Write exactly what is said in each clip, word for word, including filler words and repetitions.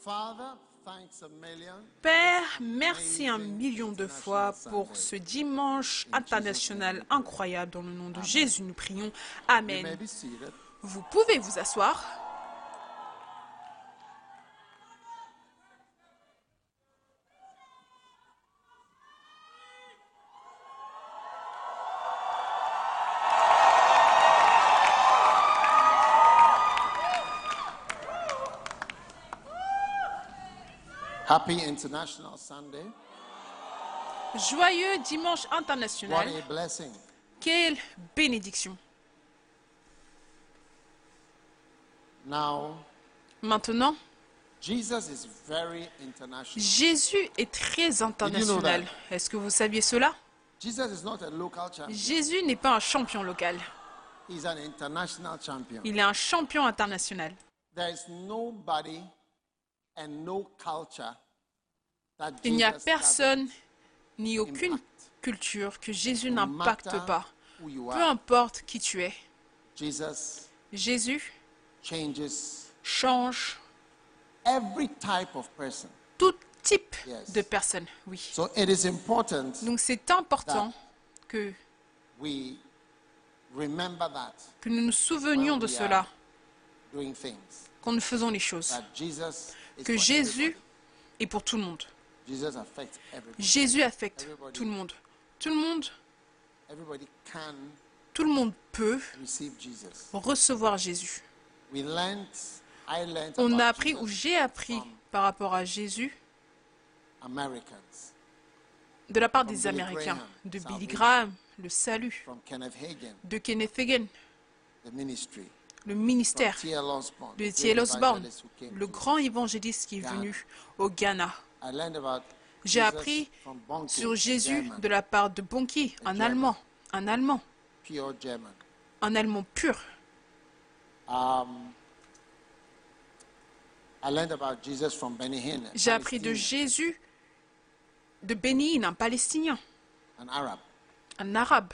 Père, merci un million de fois pour ce dimanche international incroyable. Dans le nom de Jésus, nous prions. Amen. Vous pouvez vous asseoir. Happy International Sunday. Joyeux dimanche international. What a blessing. Quelle bénédiction. Now, Maintenant, Jesus is very international. Jésus est très international. Did you know Est-ce que vous saviez cela? Jesus is not a local champion. Jésus n'est pas un champion local. He's an international champion. Il est un champion international. There is nobody and no culture that Il n'y a Jesus personne doesn't ni aucune impact. culture que Jésus No n'impacte matter pas. who you Peu are, importe qui tu es. Jesus Jésus changes change every type of person. tout type Yes. de personne. Oui. So it is important Donc c'est important que, we remember that que nous nous souvenions de cela doing things. quand nous faisons les choses. That Jesus is Que for Jésus everybody. est pour tout le monde. Jesus affects everybody. Jésus affecte Everybody. tout le monde. Tout le monde, Everybody can tout le monde peut receive Jesus. recevoir Jésus. We learned, I learned On about a appris, Jesus ou j'ai appris from par rapport à Jésus, Americans, de la part From des Billy Américains, Graham, de Billy salvation. Graham, le salut, from Kenneth Hagin, de Kenneth Hagin, the ministry, le from ministère, T L Osborne, de the T L great Osborne, evangelist who came le to- grand évangéliste qui est Ghana. venu au Ghana. I learned about J'ai Jesus appris from Bonke, sur Jésus German, de la part de Bonki, un German. Allemand, un Allemand, pure German. un Allemand pur. Um, I learned about Jesus from Benny Hinn, J'ai appris de Jésus de Bénin, un Palestinien, an Arab. un Arabe.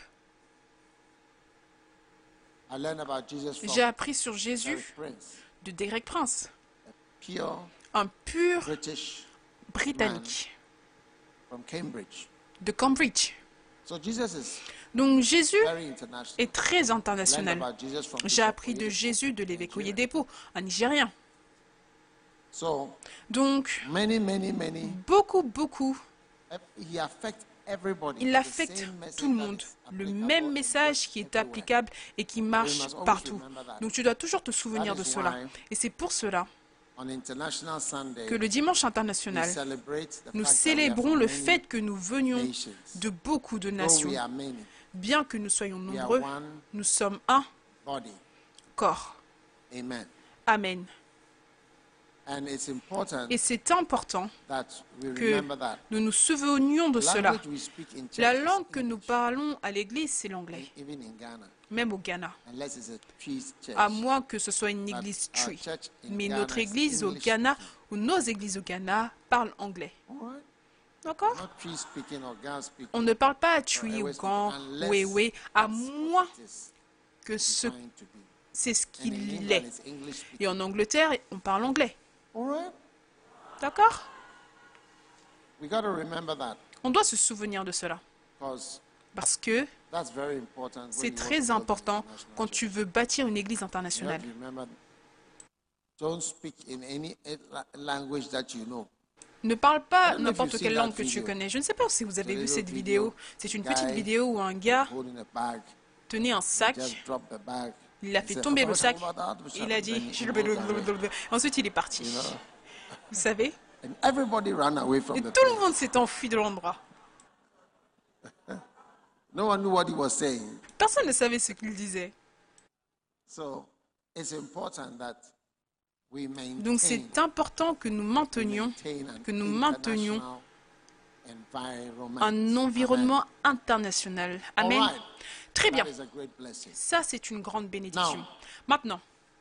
I learned about Jesus from J'ai appris sur Derek Jésus Prince, de Derek Prince, pure un pur British Britannique from Cambridge. de Cambridge. So Jesus is Donc Jésus very international. est très I learned international. about Jesus from J'ai Bishop appris de Oyedepo, Jésus de l'évêque Nigeria. Oyedepo, un Nigérien. So Donc many, many, many. beaucoup, beaucoup, He affects everybody. il The affecte same message tout le that monde. is Le applicable même and message works qui est everywhere. applicable et qui marche must always partout. remember that. Donc tu dois toujours te souvenir That de is cela. why Et c'est pour cela On International Sunday, que le dimanche we international, celebrate the nous fact that we are célébrons from le many fait que nous venions nations. de beaucoup de Though nations. we are many, Bien que nous soyons we are nombreux, one nous sommes un body. corps. Amen. Amen. And it's important Et c'est important that we que remember that. nous nous souvenions de cela. Language we speak in church La is langue que nous English, parlons à l'église, c'est l'anglais, even in Ghana, même au Ghana. unless it's a trees church. À moins que ce soit une But église our tree. church in Mais Ghana notre is église au English Ghana, speaking. ou nos églises au Ghana, parlent anglais. All right. D'accord? Not tree speaking or Ghana speaking. On ne parle pas à or Tui ou Ewe speaking, Gan, unless ou Ewe, à that's what moins it is que ce, designed to be. c'est ce And in qu'il England, est. it's English speaking. Et en Angleterre, on parle anglais. All right. D'accord? We got to remember that On doit se souvenir de cela. because Parce que that's very important. when c'est you want to très build an important international quand church. tu veux bâtir une église You have internationale. to remember, don't speak in any eh, la- language that you know. Ne parle pas I don't know if n'importe you've quelle seen that langue que tu video. connais. Je ne sais pas si vous avez It's a vu little cette video. vidéo. C'est une Guy petite vidéo où un gars Holding a bag, tenait un sac, just drop the bag. il a He fait said, tomber "Oh, le sac, shabba-dabba-dabba-dabba-dabba-dabba," il a dit... then he moved away, Ensuite, il est parti. you know. Vous savez? And everybody ran away from Et the tout le place. monde s'est enfui de l'endroit. No one knew what he was saying. Personne ne savait ce qu'il disait. So it's important that we maintain, Donc c'est important que nous maintenions, maintain an que nous maintenions international environment. un environnement international. Amen. Amen. All right. Très bien. That is a great blessing. Ça, c'est une grande bénédiction. Now, Maintenant,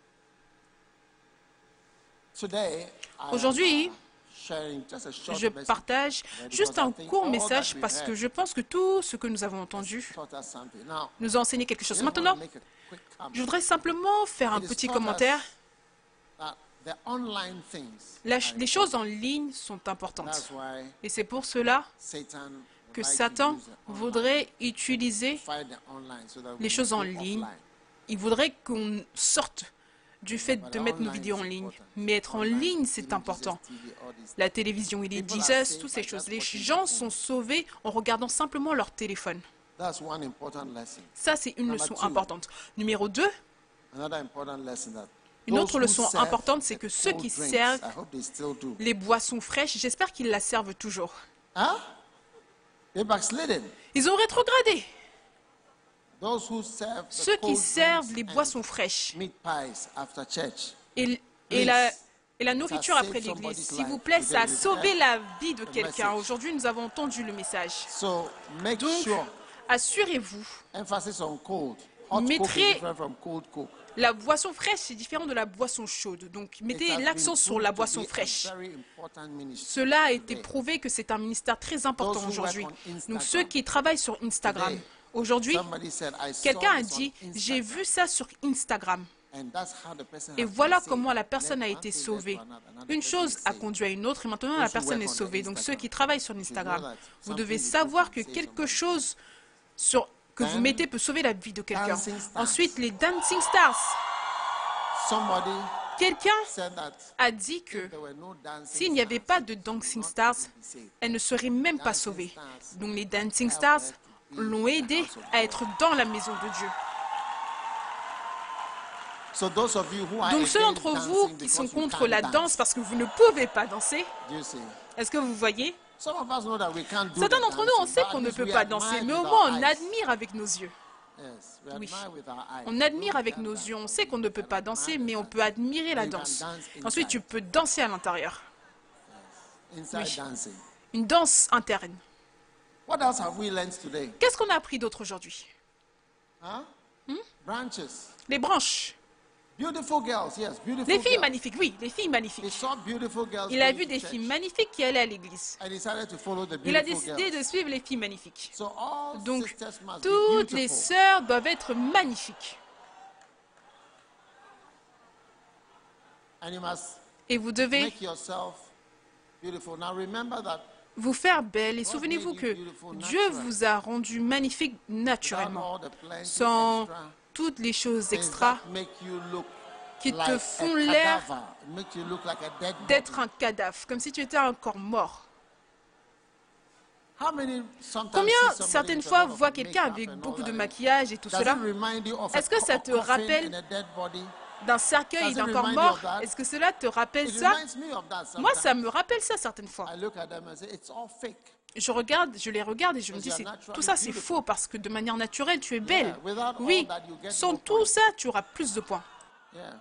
Today, I am, aujourd'hui, uh, sharing just a short je message partage because juste I un think court all message that we parce heard que je pense que tout ce que nous avons entendu taught us something. Now, nous a enseigné quelque I chose. just want to Maintenant, make a quick comment. je voudrais simplement faire un It is petit taught commentaire. us that the online things La- are les choses en ligne sont important. importantes. That's why Et c'est pour cela Satan would que like to Satan use the online, voudrait utiliser fight the online so that we les choses go en ligne. offline. Il voudrait qu'on sorte du fait de mettre nos vidéos en ligne. Mais être en ligne, c'est important. La télévision, il est Jesus, toutes ces choses. Les gens sont sauvés en regardant simplement leur téléphone. That's one important lesson. Ça, c'est une Number leçon two. importante. Numéro deux, Another important lesson that une those autre who leçon serve importante, c'est the que ceux cold qui drinks, servent I hope they still do. les boissons fraîches, j'espère qu'ils la servent toujours. Huh? They backslidden. Ils ont rétrogradé. Those who serve the Ceux qui cold servent drinks les and boissons fraîches meat pies after church. et, et la, et la nourriture saved après l'église, somebody's s'il vous life. plaît, ça a Today, sauvé you've la vie de the quelqu'un. message. Aujourd'hui, nous avons entendu le message. So make Donc, sure assurez-vous, emphasis on cold. Hot coke Mettrez- is different from cold coke. la boisson fraîche, c'est différent de la boisson chaude. Donc, It mettez has been l'accent sur proved la to boisson be a fraîche. very important ministry. Cela a été today. prouvé que c'est un ministère très important Those who aujourd'hui. work on Instagram. Donc, ceux qui travaillent sur Instagram, Today, aujourd'hui, Somebody said, I saw quelqu'un a this on dit, j'ai Instagram. vu ça sur Instagram. And that's how the person Et has been voilà saved. comment la personne Let a one été thing lead sauvée. to another, another Une person chose is a saved. conduit à une autre et maintenant Those la who personne work est on the sauvée. Donc ceux Instagram, qui travaillent sur you should know Instagram, that vous something devez you put savoir can que save quelque somebody. chose sur, que vous Then, mettez peut sauver la vie de quelqu'un. dancing stars. Ensuite, les dancing stars. Somebody Quelqu'un said that a dit que if there were no dancing s'il n'y avait stars, pas de she would dancing not stars, be saved. elle ne serait même pas Dancing sauvée. stars Donc les dancing help stars her to be l'ont in the aidé house of à God. être dans la maison de Dieu. So those of you who are Donc ceux against d'entre vous dancing qui because sont you contre can't la dance, danse parce que vous ne pouvez pas danser, do you see? est-ce que vous voyez? Some of us know that we can't do Certains the d'entre nous, on dancing, sait but qu'on at ne least peut we pas admire danser, mais with au our moins on eyes. admire avec nos yeux. Yes, we Oui. admire with our eyes. On admire avec nos yeux. On sait qu'on ne peut pas danser, mais on peut admirer la danse. Ensuite, tu peux danser à l'intérieur. Inside Oui. dancing. Une danse interne. What else have we learned today? Qu'est-ce qu'on a appris d'autre aujourd'hui? Huh? Branches. Les branches. Beautiful girls, yes, beautiful Les filles girls. magnifiques, oui, les filles He magnifiques. saw beautiful girls Il a going vu to des church filles magnifiques qui allaient à l'église. and decided to follow the Il a beautiful décidé girls. de suivre les filles magnifiques. So all Donc, sisters must toutes be les beautiful. sœurs doivent être magnifiques. And you must Et vous devez make yourself beautiful. Now remember that vous faire belle. Et souvenez-vous que Dieu vous a rendu magnifique without naturellement, all the plenty sans extra toutes les choses things extra that make you look qui te like font a l'air cadaver, make you look like a dead d'être body. un cadavre, comme si tu étais un corps mort. How many sometimes Combien see somebody certaines with a fois lot of voient quelqu'un makeup avec and all beaucoup de that? maquillage et tout Does cela? it remind you of a Est-ce que ça te coffin rappelle and a dead body? d'un cercueil et Does it d'un corps remind you mort? of that? Est-ce que cela te rappelle It ça? reminds me of that Moi, ça sometimes. me rappelle ça certaines fois. I look at them and say, it's all fake. Je regarde, je les regarde et je me dis, c'est- tout ça c'est faux parce que de manière naturelle, tu es belle. Yeah, without all Oui, that, you get sans no tout point. ça, tu auras plus de points. Yeah.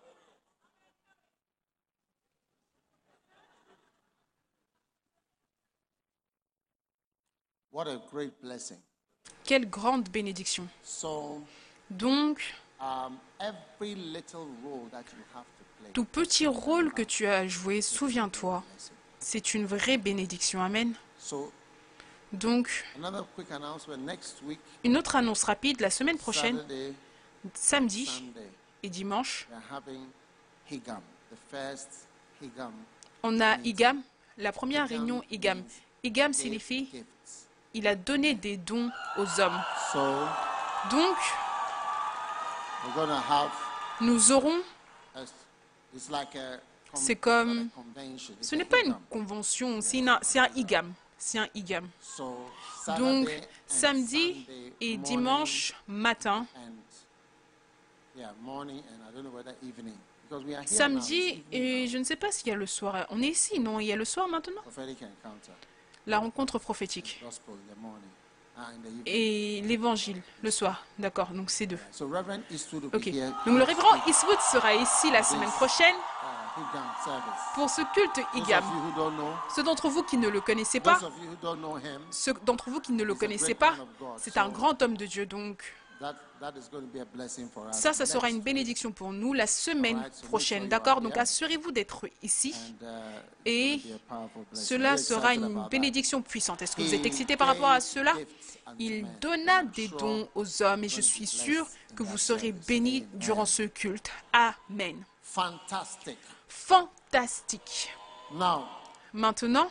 What a great blessing. Quelle grande bénédiction. So, Donc, um, every little role that you have to play, tout petit rôle que tu as joué, souviens-toi, c'est une vraie bénédiction. Amen. So, Donc, another quick announcement. Next week, une autre annonce rapide, la semaine prochaine, Saturday, samedi Sunday, et dimanche, we are having Higam, the first Higam. on a IGAM, la première réunion IGAM. means IGAM give signifie gifts. il a donné des dons aux hommes. So, Donc, we're going to have, nous aurons, a, it's like a, con- c'est comme, not a convention, it's ce a n'est pas une Higam. convention, c'est une- c'est un IGAM. C'est un IGAM. So, Donc, Saturday and samedi Sunday et morning dimanche matin, and yeah, morning and I don't know whether evening because we are here now, samedi it's evening et now, je ne sais pas s'il y a le soir. On est ici, non? Il y a le soir maintenant? prophetic encounter, La rencontre prophétique gospel in the morning, ah, in the evening. et l'évangile le soir. D'accord, donc c'est deux. So Reverend Eastwood will Ok. be here Donc le next révérend week, Eastwood sera ici la semaine prochaine uh, Higam service. pour ce culte Those IGAM. of you who don't know, Ceux d'entre vous qui ne le connaissez pas, those of you who don't know him, ceux d'entre vous qui ne le He's a connaissez great pas, man of God. c'est un So- grand homme de Dieu. Donc that that is going to be a blessing for us. ça, ça sera next une bénédiction pour nous la semaine Alright, so make prochaine. sure you D'accord? are Donc here. assurez-vous d'être ici. And, uh, Et it's gonna be a powerful blessing. cela We're sera excited une about that. bénédiction puissante. Est-ce que vous êtes He excités par rapport à gave cela? gifts unto Il men. donna I'm des sure dons aux hommes et je you're going to suis be sûr blessed in que that vous serez service. bénis Amen. durant ce culte. Amen. fantastic. Fantastique. Now, Maintenant,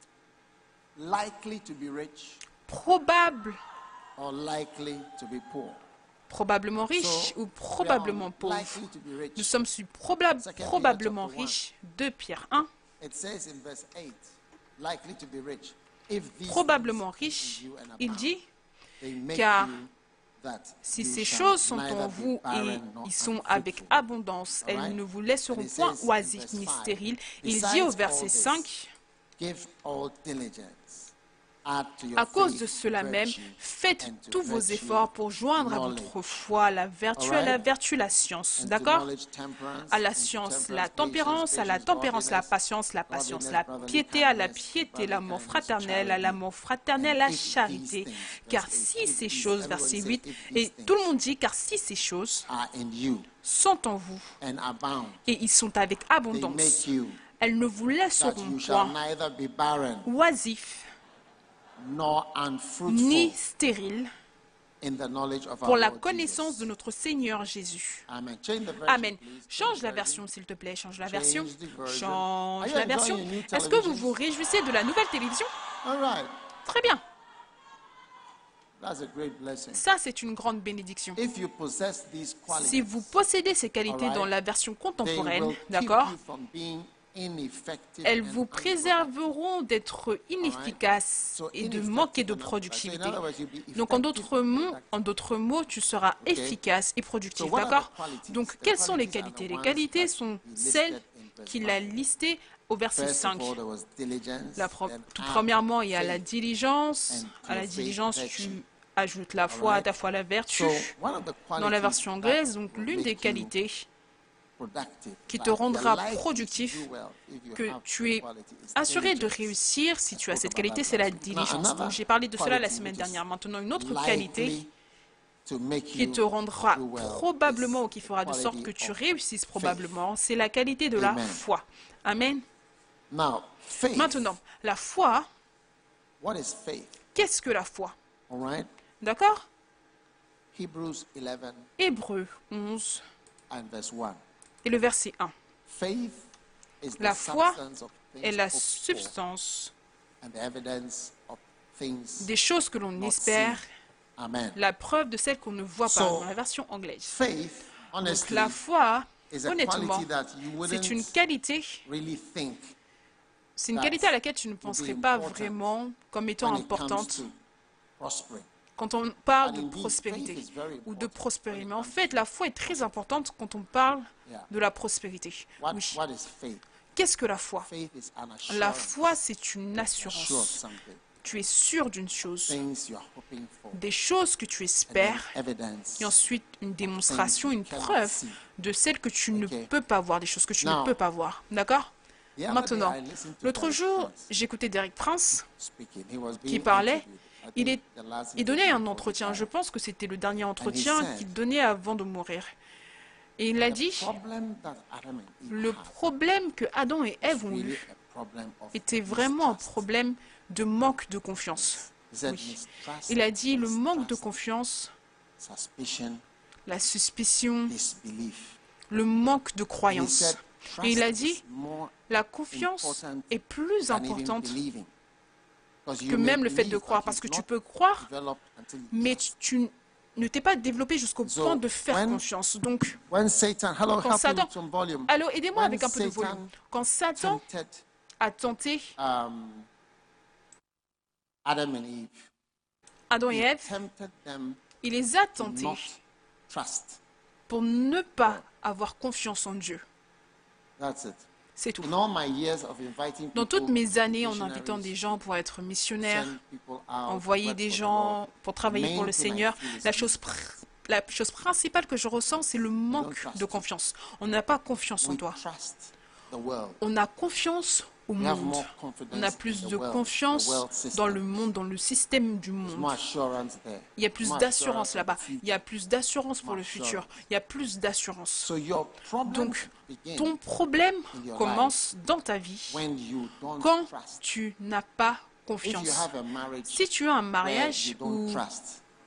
likely to be rich probable, or likely to be poor. probablement riche So, ou we are probablement pauvre. likely to be rich. Nous sommes sur probab- Second Peter probablement chapter one. riches. deux Pierre un. It says in verse eight, likely to be rich. If these Probablement things riche, in you and il abound, dit, they make car you that si you ces shall choses sont neither en be vous et barren nor ils sont unfruitful. avec abondance, elles Alright? ne vous laisseront And it point says in oisifs verse ni five, stériles. Il besides dit au all verset this, cinq, give all diligence. Add to your à cause faith de cela même, virtue, faites and to tous vos virtue efforts pour joindre à votre knowledge, foi la vertu, à la Alright? vertu la science. and to D'accord? knowledge temperance, À la and to science, la temperance tempérance, à la patience, tempérance, la godliness, patience, la patience, la godliness, piété, à la brotherly piété, kindness, l'amour brotherly fraternel, à kindness, l'amour fraternel, and la if these charité. things, Car verse si eight, ces if these- choses, everybody verset say, huit, if these et things tout le monde dit, car si ces choses are in you sont en vous and abound, et ils sont avec they abondance, make you elles ne vous that laisseront you shall point neither be barren oisifs nor ni unfruitful stériles in the knowledge of pour our la Lord connaissance Jesus. de notre Seigneur Jésus. Amen. Change the version, Amen. please. Change the la version. version, s'il te plaît. Change la version. Change the version. Change Are you la enjoying version. your new Est-ce que vous television? vous réjouissez de la nouvelle télévision? All right. Très bien. That's a great blessing. Ça, c'est une grande bénédiction. If you possess these qualities, Si vous possédez ces qualités Alright. dans la version they contemporaine, will keep d'accord, you from being ineffective elles and vous unproductive. préserveront d'être inefficaces So et de ineffective manquer de and unproductive. So productivité. in other words, you'll be Donc en effective d'autres and mots, productive. en d'autres mots, tu seras Okay. efficace et So productif, what are the d'accord? qualities? Donc The quelles sont les qualities are the qualités? Les ones qualités that sont he listed celles in verse qu'il five. a listées au verset First of cinq. all, there was diligence, La pro- then Tout add premièrement, il y a la faith. diligence. and to À la your faith, diligence, virtue. tu ajoutes la foi, à Alright. ta foi la vertu. So, one of the Dans la qualities version that anglaise, donc will l'une make des you qualités productive, qui like te you're rendra likely to productif, do well if you que have tu the es quality, is assuré de diligence. réussir si I tu as spoke cette about qualité, that c'est la last week. Now, diligence. another Donc j'ai parlé de cela la quality semaine which is dernière. Maintenant, une autre likely qualité to make qui you te rendra do well probablement is ou qui fera de quality sorte que tu of réussisses faith. probablement, c'est la qualité de la Amen. foi. Amen. Now, faith. Maintenant, la foi, What is faith? qu'est-ce que la foi? All right. D'accord? Hebrews eleven Hébreux onze and verse one. et le verset un. Faith is the La foi substance of things est la hoped for substance and the evidence of things des choses que l'on not espère, seen. Amen. la preuve de celles qu'on ne voit pas, So, dans la version anglaise. Faith, Donc honestly, la foi, is a honnêtement, quality that you c'est une wouldn't qualité, really think c'est une that qualité à laquelle tu ne would be penserais pas important vraiment comme étant when it comes importante to prospering. quand on parle And de indeed, prospérité faith is very ou de important prospérité. when Mais it en comes fait, to la foi est très importante quand on parle Yeah. de la prospérité. What, Oui. what is faith? Qu'est-ce que la foi? Faith is an La assurance. foi, c'est une You're sure of assurance. something. Tu es sûr d'une chose, Things you're hoping for. des choses que tu And then espères, evidence. et ensuite une démonstration, une you cannot preuve see. de celles que tu ne Okay. peux pas voir, des choses que tu Now, ne peux pas voir. D'accord? The other day, Maintenant, I listened to l'autre Derek jour, Prince j'écoutais Derek Prince speaking. He was qui being parlait. interviewed. I Il, think est, the last il donnait interview un before he entretien, je died. pense que c'était le dernier entretien said, qu'il donnait avant de mourir. Et il a The dit, problem that Adam and Eve le had problème que Adam et Ève is ont really eu a problem of était vraiment un mistrust. problème de manque de confiance. He said Oui. mistrust, Il a dit le manque de mistrust, confiance, suspicion, la suspicion, disbelief. le manque de He croyance. said, Et il a trust dit, is more la confiance important est plus than even importante believing. Because you que may même le fait de believe, croire, but parce que you've tu not peux croire, developed until you mais trust. tu ne t'es pas développé jusqu'au So, point de faire when- confiance. Donc, When Satan, hello, Quand help me Satan- with some volume. allô, aidez-moi When avec un peu de Satan volume. Quand Satan tempted a tenté um, Adam and Eve, Adam et he Ève, tempted them il les a to tentés not trust. pour ne pas avoir confiance en Dieu. That's it. C'est tout. In all my years of inviting Dans people toutes mes to années, en missionaries, invitant des gens pour être missionnaires, send people out, envoyer work des for the gens Lord, pour travailler pour le main thing I Seigneur, feel is la chose, pr- la chose principale que je ressens, c'est le manque trust. de confiance. On n'a pas confiance en we toi. trust the world. On a confiance au We have monde. more confidence On a in plus the de world, confiance the world system. dans le monde, dans le système du There's monde. more assurance there. Il y a plus More d'assurance assurance là-bas. of the future. Il y a plus d'assurance pour More le futur. assurance. Il y a plus d'assurance. So your problem Donc, begins ton problème in your commence dans ta vie when you don't quand trust. tu n'as pas If you confiance. have a marriage Si tu as un where mariage you don't où trust,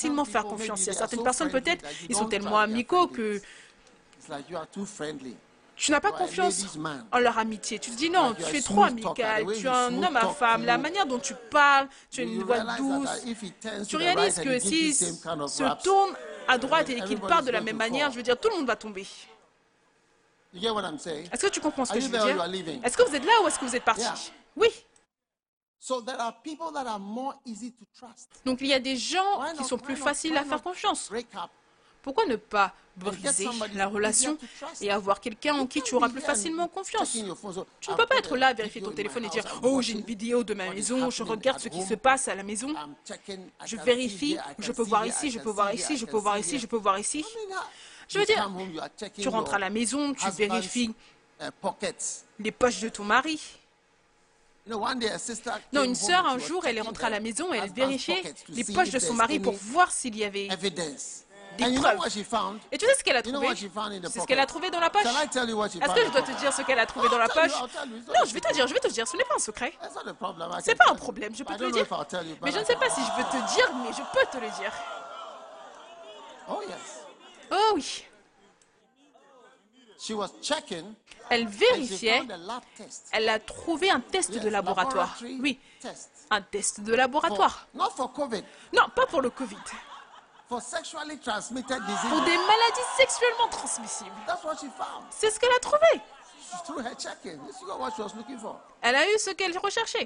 facilement faire confiance. Il y a certaines personnes, peut-être, ils sont tellement amicaux que It's like you are too friendly. Tu n'as pas You are a confiance ladies' man. en leur amitié. Tu te dis non, Like you are tu a es trop smooth talker. amical, The way tu es you un smooth homme à talk, femme, la you- manière dont tu parles, tu as une You voix realize douce. that if he turns Tu to the réalises right and que he gives s'il the same kind of se raps, tourne à droite et qu'il everybody's parle de la going même to manière, fall. je veux dire, tout le monde va tomber. you get what I'm saying? Est-ce que tu comprends ce Are que you je veux there or you dire? are leaving? Est-ce que vous êtes là ou est-ce que vous êtes parti? Yeah. Oui. So there are people that are more easy to trust. Donc il y a des gens Why qui not- sont why plus not- faciles why à faire not confiance. Break up. Pourquoi ne pas get briser somebody la relation easier to trust. et avoir quelqu'un en You qui can't tu auras be plus here and facilement confiance? checking your phone, so Tu ne I've peux pas got être a là à vérifier video ton in my téléphone et house, dire I'm oh, j'ai une watching vidéo de ma what is maison, je happening regarde at ce qui home. se passe à la maison. I'm checking, I Je can see vérifie, here, I je can peux see voir here, ici, I je can peux see voir here, ici, I je can peux voir see ici, here. je peux voir ici. I mean, uh, Je veux you dire, come home, you are checking tu rentres à your la maison, tu husband's, vérifies uh, pockets. les poches de ton mari. You know, one day a sister Non, came une home sœur, and un she was jour, elle est checking rentrée à la her maison et elle husband's vérifiait pockets to les see poches if de son there's mari any pour voir s'il y avait evidence. des And you know preuves. what she found? Et tu sais ce qu'elle a You know trouvé? what she found in the C'est ce qu'elle a pocket? trouvé dans la poche. Shall I tell you what she Est-ce found que in je the dois te pocket? dire ce qu'elle a trouvé dans la I'll tell you, poche? I'll tell you, it's not Non, a je vais te secret. dire, je vais te dire, ce n'est pas un secret. That's not a problem. I C'est can pas tell un you. problème, je peux I te le don't know dire. if I'll tell you, but Mais je I ne sais can. pas si je peux te dire, mais je peux te le dire. Oh yes. Oh oui. She was checking Elle and she vérifiait, found a lab test. elle a trouvé un test Yes, de laboratoire. laboratory Oui, test. un test de For- laboratoire. not for COVID, Non, pas pour le Covid. for sexually transmitted Pour diseases. des maladies sexuellement transmissibles. That's what she found. C'est ce qu'elle a trouvé. Through her checking. This is what she was looking for. Elle a eu ce qu'elle recherchait.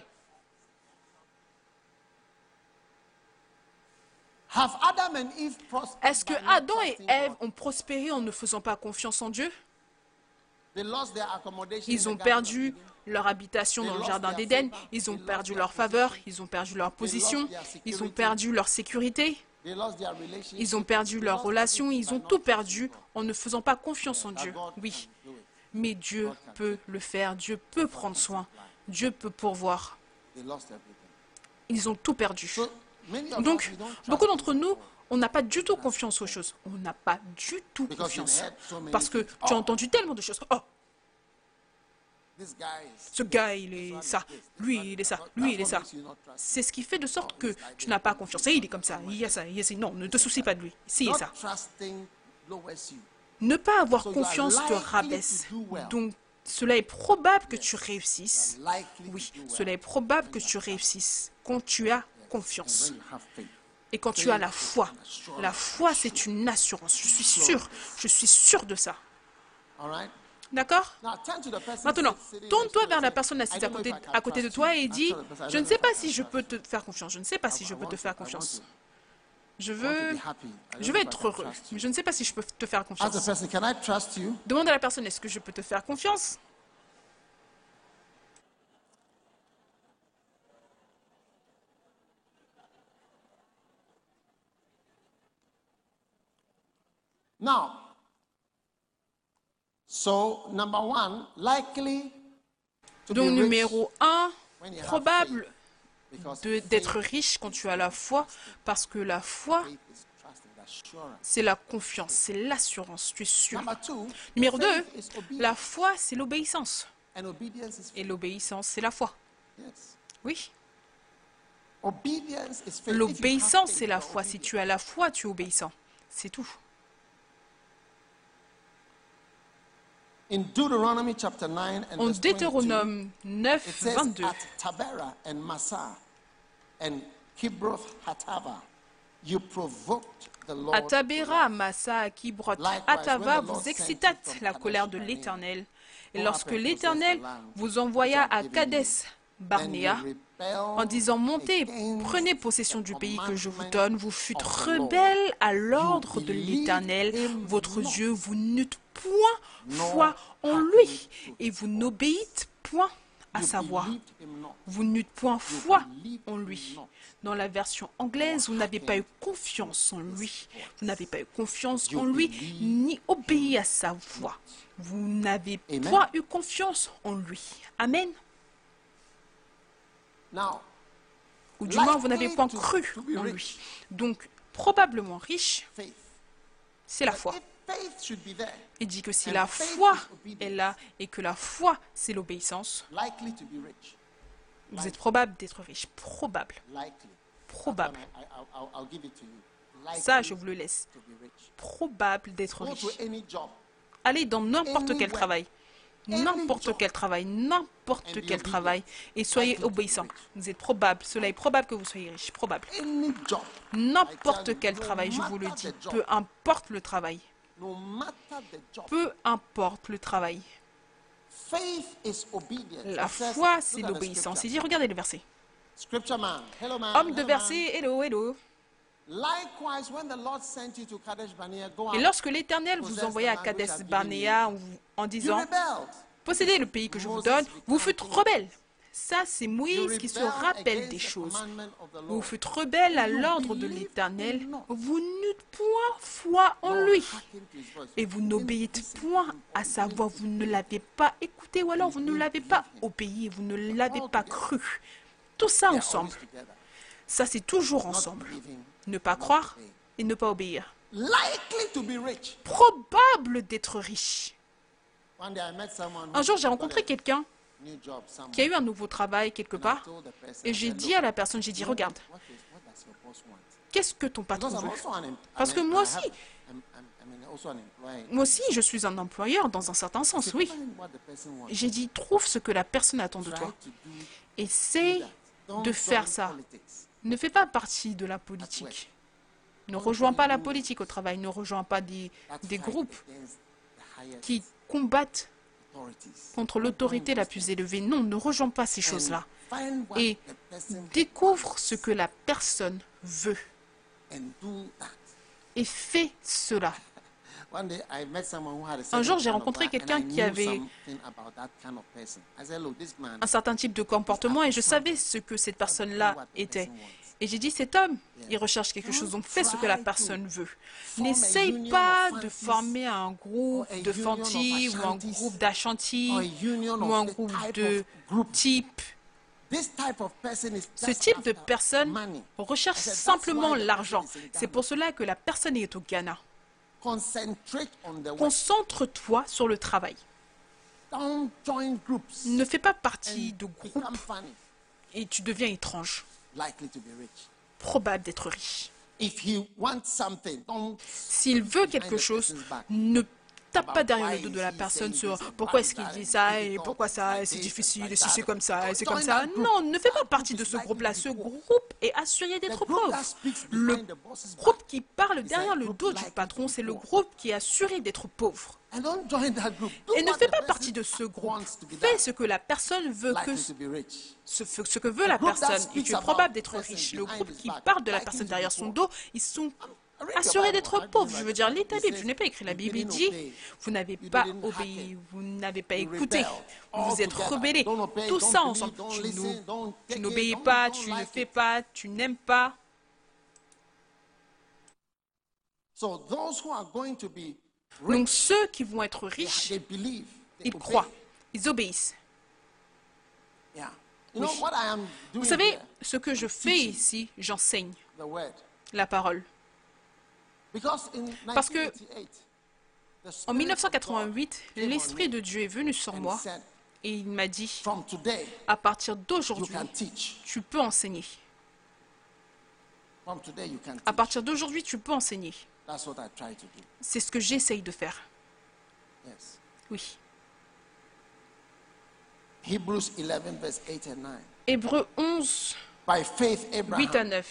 Have Adam and Eve prospered Est-ce que by not Adam et trusting Ève God? ont prospéré en ne faisant pas confiance en Dieu? They lost their accommodation Ils in ont the Garden of perdu Eden. leur habitation dans le jardin d'Éden, ils ont perdu leur faveur, ils ont perdu leur position, ils ont perdu leur sécurité, They lost their relationship. ils ont perdu leur lost relation, everything ils by ont not tout trusting perdu God. en ne faisant pas confiance en That Dieu. God Oui, can do it. mais Dieu peut le faire, Dieu peut prendre soin, Dieu peut pourvoir. They lost everything. Ils ont tout perdu. So many of us, Donc, we don't trust beaucoup d'entre in nous, God. on n'a pas du tout confiance aux choses. On n'a pas du tout Because you've confiance. heard so many Parce que things. tu as Oh. entendu tellement de choses. Oh, This guy is ce gars, il est ça. Lui, il est ça. Lui, il est ça. C'est ce qui fait de sorte que tu n'as pas confiance. Et il est comme ça. Il y a ça. Il y a ça. Non, ne te soucie pas de lui. Si, il not est ça. trusting lowers you. Ne pas avoir So you are confiance te likely rabaisse. to do well. Donc, cela est probable que tu réussisses. Likely Oui, to do well. cela est probable que tu réussisses quand tu as confiance. When you have faith. Et quand tu as la foi. La foi, c'est une assurance. Je suis sûr. Je suis sûr de ça. All right? D'accord? Now turn to the person Maintenant, sitting tourne-toi next to vers you la and personne say, assise "I à don't know côté, if I can à côté de trust toi you." et And dis, tell the person, "I je don't ne know sais if I pas can si je trust peux you. te faire confiance. Je ne sais pas si I je peux want te to- faire I want confiance. to- Je I want to veux, be happy. I don't je know vais if I être can heureux. trust you. Mais je ne sais pas si je peux te faire Ask the confiance. person, "Can I trust you?" Demande à la personne, est-ce que je peux te faire confiance? Now, so number one, likely to be Donc, rich numéro un, when you have probable faith, because de- faith d'être riche quand tu as la foi, parce que la foi, faith is trust and assurance. c'est la confiance, c'est l'assurance, tu es sûr. Number two, Numéro faith deux, is obedience. la foi, c'est l'obéissance. And obedience is Et faith. l'obéissance, c'est la foi. Yes. Oui. Obedience is faith. If you have L'obéissance, faith, c'est la you are foi. Si obedient. tu as la foi, tu es obéissant. C'est tout. In Deuteronomy chapter nine and En verse twenty-two, Deutéronome it neuf, says, vingt-deux, at Tabera and Massa and Kibroth Hatava, you provoked the Lord. à to Tabéra, à wrath. Massa, à Kibrot, Likewise, à Tava, when the Lord vous sent you excitâtes from la Kadesh colère de Barnea, l'Éternel. Et go lorsque up and l'Éternel possess the land vous envoya which I à have given Kadès you. Barnéa, Then you en rebelled disant, montez, against prenez possession the du pays que je vous commandment donne, vous fûtes of the Lord. rebelles à l'ordre de believed l'Éternel, him votre not, Dieu, vous n'eûtes point nor foi en hearkened lui, to et his vous voice. n'obéissez n'obéissez point à You sa voix. believed him not. Vous n'eûtes point You foi believed en him lui. not. Dans la version anglaise, vous n'avez pas eu hearkened confiance en to his lui. voice. Vous n'avez pas eu confiance You en lui, believed ni obéi à sa voix. Vous n'avez Amen. point eu confiance en lui. Amen. Now, Ou du moins, vous likely n'avez point to- cru to be en rich. lui. Donc, probablement riche, faith. c'est la But foi. if faith should be there, Il dit que si and la faith foi is obedience, est là et que la foi, c'est l'obéissance, likely to be rich. vous êtes probable d'être riche. Probable. Likely. Probable. I, I, I'll, I'll give it to you. Likely Ça, je vous le laisse. to be rich. Probable d'être Go riche. to any job. Allez dans n'importe quel Anywhere. travail. n'importe quel travail, n'importe quel travail, et soyez obéissants. Vous êtes probable, cela est probable que vous soyez riche, probable. N'importe quel travail, je vous le dis, peu importe le travail, peu importe le travail. La foi, c'est l'obéissance. Il dit, regardez le verset. Homme de verset, hello, hello. Et lorsque l'Éternel vous envoya à Kadesh Barnéa en disant, possédez le pays que je vous donne, vous fûtes rebelles. Ça, c'est Moïse qui se rappelle des choses. Vous fûtes rebelles à l'ordre de l'Éternel, vous n'eûtes point foi en lui. Et vous n'obéissez point à sa voix, vous ne l'avez pas écouté, ou alors vous ne l'avez pas obéi, vous ne l'avez pas cru. Tout ça ensemble. Ça, c'est toujours ensemble. Ne pas croire et ne pas obéir. Probable d'être riche. Un jour, j'ai rencontré quelqu'un qui a eu un nouveau travail quelque part, et j'ai dit à la personne, j'ai dit, regarde, qu'est-ce que ton patron veut? Parce que moi aussi, moi aussi, je suis un employeur dans un certain sens, oui. J'ai dit, trouve ce que la personne attend de toi. Essaye de faire ça. Ne fais pas partie de la politique. Ne rejoins pas la politique au travail, ne rejoins pas des, des groupes qui combattent contre l'autorité la plus élevée. Non, ne rejoins pas ces choses-là. Et découvre ce que la personne veut. Et fais cela. Un jour, j'ai rencontré quelqu'un qui avait un certain type de comportement et je savais ce que cette personne-là était. Et j'ai dit, cet homme, il recherche quelque chose, donc fais ce que la personne veut. N'essaye pas de former un groupe de Fanti ou un groupe d'Ashanti ou un groupe de type. Ce type de personne recherche simplement l'argent. C'est pour cela que la personne est au Ghana. Concentre-toi sur le travail. Ne fais pas partie de groupes et tu deviens étrange. Probable d'être riche. S'il veut quelque chose, ne tape pas derrière le dos de la personne sur pourquoi est-ce qu'il dit ça et pourquoi ça, c'est difficile, et si c'est comme ça, et c'est comme ça. Non, ne fais pas partie de ce groupe-là. Ce groupe est assuré d'être pauvre. Le groupe qui parle derrière le dos du patron, c'est le groupe qui est assuré d'être pauvre. Et ne fais pas partie de ce groupe. Fais ce que la personne veut que ce, ce que veut la personne. Et tu es probable d'être riche. Le groupe qui parle de la personne derrière son dos, ils sont assurés d'être pauvres. Je veux dire, l'état Bible, je n'ai pas écrit la Bible, il dit, vous n'avez pas obéi, vous n'avez pas écouté, vous vous êtes rebellés. Tout ça ensemble. Tu n'obéis pas, tu ne fais pas, tu n'aimes pas. Donc ceux qui vont être riches, ils croient, ils obéissent. Oui. Vous savez, ce que je fais ici, j'enseigne la parole. Parce que en mille neuf cent quatre-vingt-huit, l'Esprit de Dieu est venu sur moi et il m'a dit, à partir d'aujourd'hui, tu peux enseigner. À partir d'aujourd'hui, tu peux enseigner. C'est ce que j'essaye de faire. Oui. Hébreux onze, huit à neuf.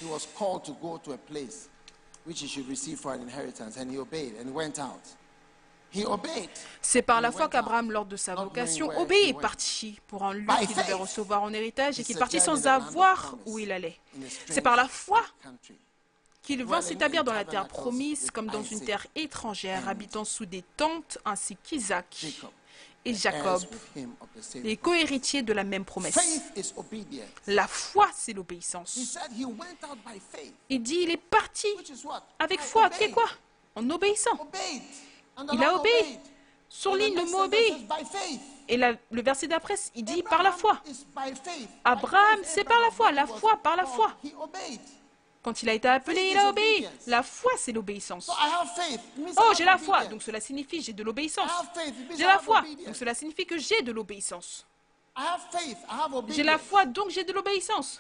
C'est par la foi qu'Abraham, lors de sa vocation, obéit et partit pour un lieu qu'il devait recevoir en héritage et qu'il partit sans avoir où il allait. C'est par la foi qu'il vint s'établir dans la terre promise comme dans une terre étrangère, habitant sous des tentes, ainsi qu'Isaac et Jacob, les co-héritiers de la même promesse. La foi, c'est l'obéissance. Il dit, il est parti avec foi. Qu'est quoi? En obéissant. Il a obéi. Surligne le mot obéi. Et la, le verset d'après, il dit par la foi. Abraham, c'est par la foi. La foi, par la foi. Quand il a été appelé, il a obéi. La foi, c'est l'obéissance. Oh, j'ai la foi, donc cela signifie j'ai de l'obéissance. J'ai la foi, donc cela signifie que j'ai de l'obéissance. J'ai la foi, donc j'ai de l'obéissance.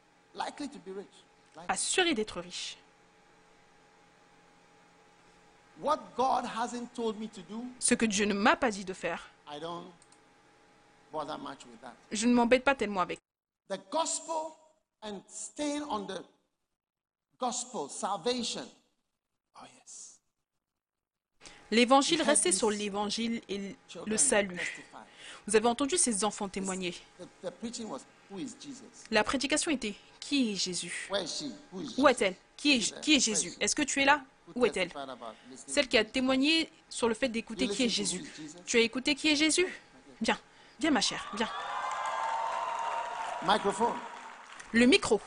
Assuré d'être riche. what God hasn't told me to do, ce que Dieu ne m'a pas dit de faire, I don't bother much with that. je ne m'embête pas tellement avec. The gospel and staying on the gospel, salvation. Oh yes. L'évangile, rester sur l'évangile et Children le salut. testify. Vous avez entendu ces enfants témoigner. The, the preaching was, who is Jesus? La prédication était, qui est Jésus? Where is she? Who is Où Jesus? est-elle? Qui est, qui est Jésus? Est-ce que tu es là? Où est-elle? Testified about listening Celle to qui a Jesus. témoigné sur le fait d'écouter qui est Jésus. Tu as écouté qui est Jésus? Viens, viens ma chère, viens. Microphone. Le micro.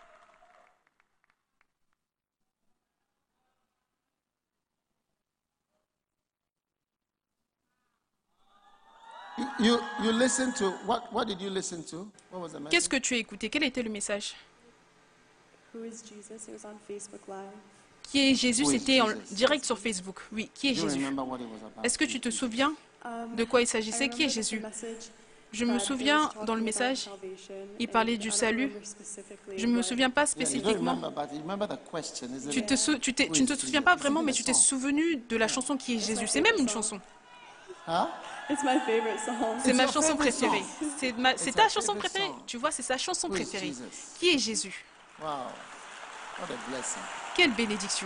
You, you, you listen to, what, what did you listen to? What was the message? Qu'est-ce que tu as écouté? Quel était le message? Who is Jesus? It was on Facebook Live. Qui est Jésus? Who is C'était en Jesus? direct sur Facebook. Oui, qui est Do you Jésus? remember what it was about? Est-ce que tu te souviens Um, de quoi il I s'agissait? Qui est remember the Jésus? message, Je me but souviens it was dans le talking message, about salvation, il and parlait I du don't salut. remember specifically Je ne me what- souviens pas Yeah, you don't spécifiquement. remember, but you remember the question, isn't Tu, it? te sou- tu, t'es- tu ne te souviens pas vraiment, mais tu t'es souvenu de la chanson qui est Jésus. C'est même une chanson. Huh? It's my favorite song. C'est It's ma your chanson favorite préférée. song. C'est ma- c'est It's ta her chanson favorite préférée. song. Tu vois, c'est sa chanson Who is préférée. Jesus? Qui est Jésus? Wow. What a blessing. Quelle bénédiction.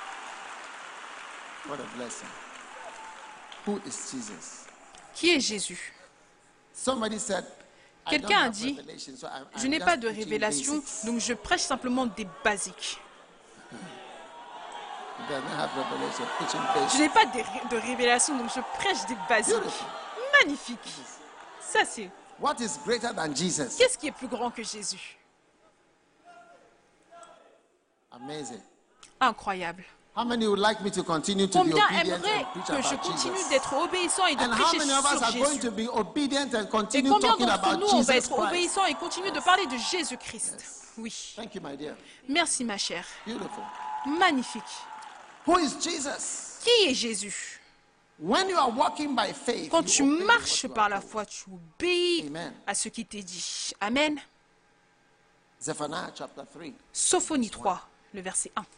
What a blessing. Who is Jesus? Qui est Jésus? Somebody said, I don't Quelqu'un a have dit, revelation, so I'm- je I'm n'ai just pas de preaching révélation, basics. donc je prêche simplement des basiques. He doesn't have revelation, preaching Je basics. n'ai pas de, ré- de révélation, donc je prêche des basiques. Beautiful. Magnifique. Ça, c'est... What is greater than Jesus? Qu'est-ce qui est plus grand que Jésus? Amazing. Incroyable. How many would like me to continue to be Combien obedient aimerait and preach que je about continue Jesus? d'être obéissant et de And how prêcher many of us sur are going Jésus? to be obedient and Et continue combien talking d'entre about nous, on va Jesus être Christ? obéissants et continuer de parler de Jésus-Christ? Oui. Thank you, my dear. Merci, ma chère. Beautiful. Magnifique. Who is Jesus? Qui est Jésus? When you are walking by faith, Quand you tu obey marches what you par are la told. foi, tu obéis Amen. à ce qui t'est dit. Amen. Zephaniah chapter three. Sophonie trois, le verset un.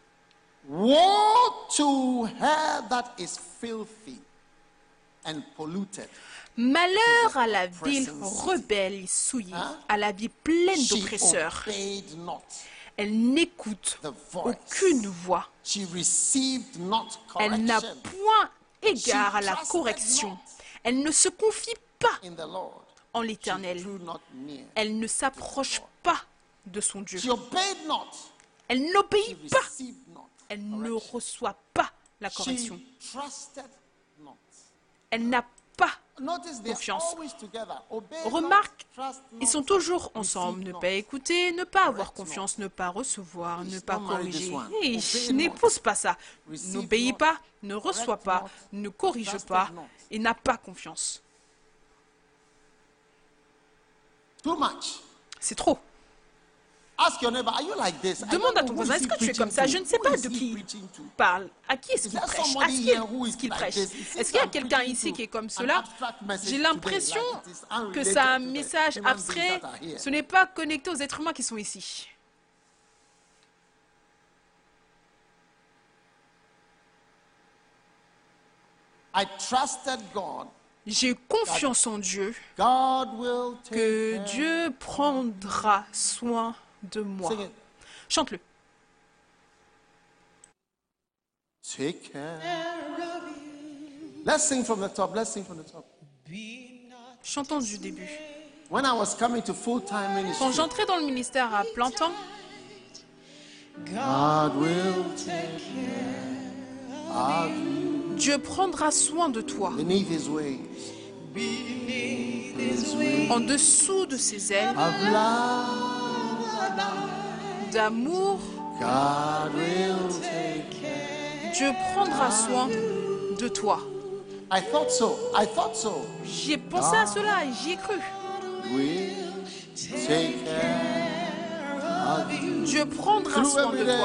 Woe to her that is filthy and polluted. Malheur à la ville rebelle et souillée, Hein? à la vie pleine She d'oppresseurs. obeyed not. Elle n'écoute The voice. aucune voix. She received not Elle n'a correction point égard à la trusted correction. not. Elle ne se confie pas in the Lord. en She l'Éternel. drew not near. Elle ne s'approche pas de son Dieu. She obeyed not. Elle She n'obéit pas. received not. Elle ne correction. reçoit pas la correction. She trusted not. Elle n'a pas. Notice they're Confiance. always together. Obey Remarque, not, trust ils sont not, toujours ensemble. receive Ne not. pas écouter, ne pas avoir Correct confiance, ne pas recevoir, ne Please, pas don't marry this corriger. one. Hey, Obey n'épouse not. pas ça. Receive N'obéis not. pas, ne reçois Correct pas, not. ne corrige Trusted pas not. et n'a pas confiance. Too much. C'est trop. Ask your neighbor, are you like this? I Demande don't à know, ton who voisin, is est-ce he que tu es preaching comme ça? to? Je ne sais Who pas is de he qui preaching to? il parle. À qui est-ce Is qu'il there prêche? À somebody qui here who is est-ce qu'il like prêche? this? It seems Est-ce qu'il y a I'm quelqu'un preaching ici to qui est comme an cela? abstract message J'ai today, l'impression like it is que unrelated c'est un to the message human beings abstrait. that are here. Ce n'est pas connecté aux êtres humains qui sont ici. I trusted God. J'ai confiance en Dieu God will take que care. Dieu prendra soin de moi. Sing it. Chante-le. Take care. Let's sing from the top. Let's sing from the top. Chantons du début. When I was coming to full-time Quand ministry, j'entrais dans le ministère à plein temps, God will take care of you Dieu prendra soin de toi. beneath His wings En dessous de ses ailes of love. d'amour, God will take care. Dieu prendra soin de toi. I thought so. I thought so. J'y ai pensé à cela et j'y ai cru. Will take care of you Dieu prendra through soin every de toi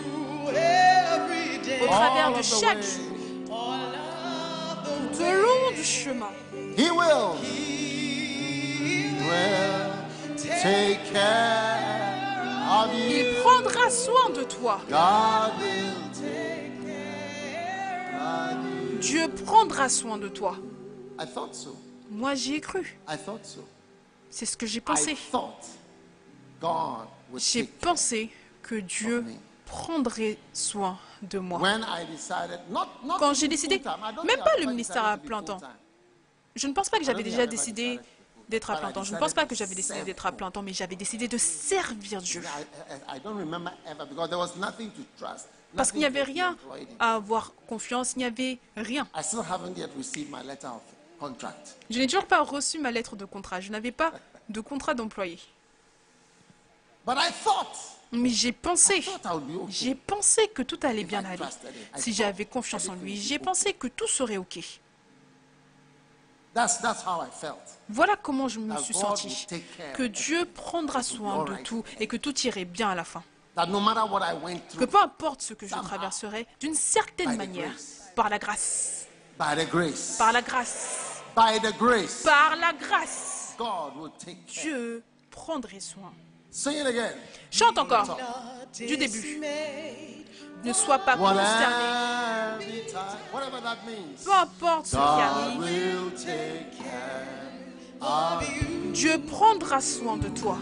day, au travers all de of the chaque way. jour, tout au long du chemin. He will. He will take care of you. Il prendra soin de toi God will take care Dieu prendra soin de toi. I thought so. Moi, j'y ai cru. I thought so. C'est ce que j'ai I pensé. thought God would J'ai take care. pensé que Dieu prendrait soin de moi. When I decided, not, not Quand even j'ai décidé, full-time. I don't même think pas I've le ever ministère decided à to be plein temps. full-time. Je ne pense pas que I j'avais don't think déjà I've ever décidé decided to be d'être à full-time. plein temps. But I Je ne pense pas que decided j'avais to décidé serve d'être à God. plein temps, mais j'avais décidé de servir Dieu. I, I, I don't remember ever because there was nothing to trust. Parce qu'il n'y nothing avait to be rien employed in. à avoir confiance, il n'y avait rien. I still haven't yet received my letter of contract. Je n'ai toujours pas reçu ma lettre de contrat. Je n'avais pas de contrat d'employé. But I thought, Mais j'ai I pensé, thought I would be okay. j'ai pensé que tout allait bien I aller. trusted him. I Si thought j'avais confiance en everything lui, would be j'ai okay. pensé que tout serait OK. That's, that's how I felt. Voilà comment je me That suis God senti. will take care Que of Dieu prendra soin de tout et que tout irait bien à la fin. That no matter what I went Que through, peu importe ce que je Somehow, traverserai, d'une certaine by the manière, grace. par la grâce, by the grace, par la grâce, by the grace, par la grâce, God will take care. Dieu prendrait soin. Sing it again. Chante encore, du début. Ne sois pas consterné. Whatever the time- whatever that means. Peu importe ce qui God arrive, will take care of you. Dieu prendra soin de toi.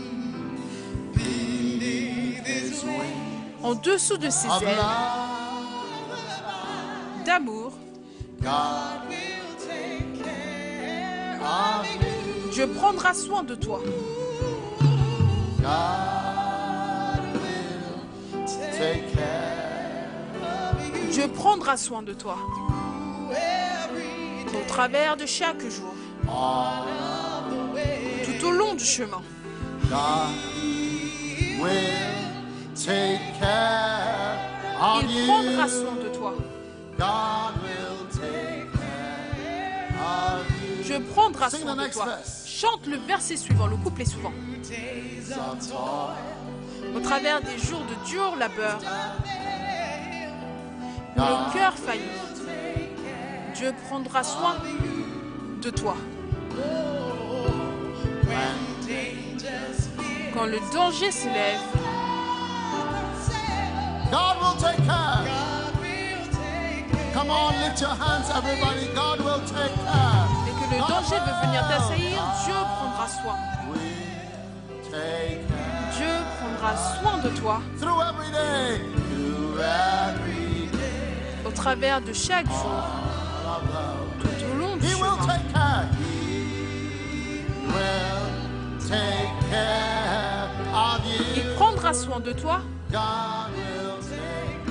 His way En dessous de ses of ailes love, d'amour, God will take care of you. Dieu prendra soin de toi. God will take care Dieu prendra soin de toi. Au travers de chaque jour, all of the way. tout au long du chemin. God will take care of Il you. prendra soin de toi. God will take care of you. Dieu prendra Sing soin the de next toi. verse. Chante le verset suivant, le couplet suivant. Days of toil, Au travers des jours de dur labeur, où God le cœur faillit, Dieu prendra soin de toi. when dangers fear. Quand le danger s'élève, God will take care. God will take care. Come on, lift your hands, everybody. God will take care. et que le danger veut venir t'assaillir, Dieu prendra soin. Will take care. Dieu prendra soin de toi Through every day, through every day au travers de chaque jour, of love. tout au long du He will chemin. take care. He will take care of Il you. prendra soin de toi, God will take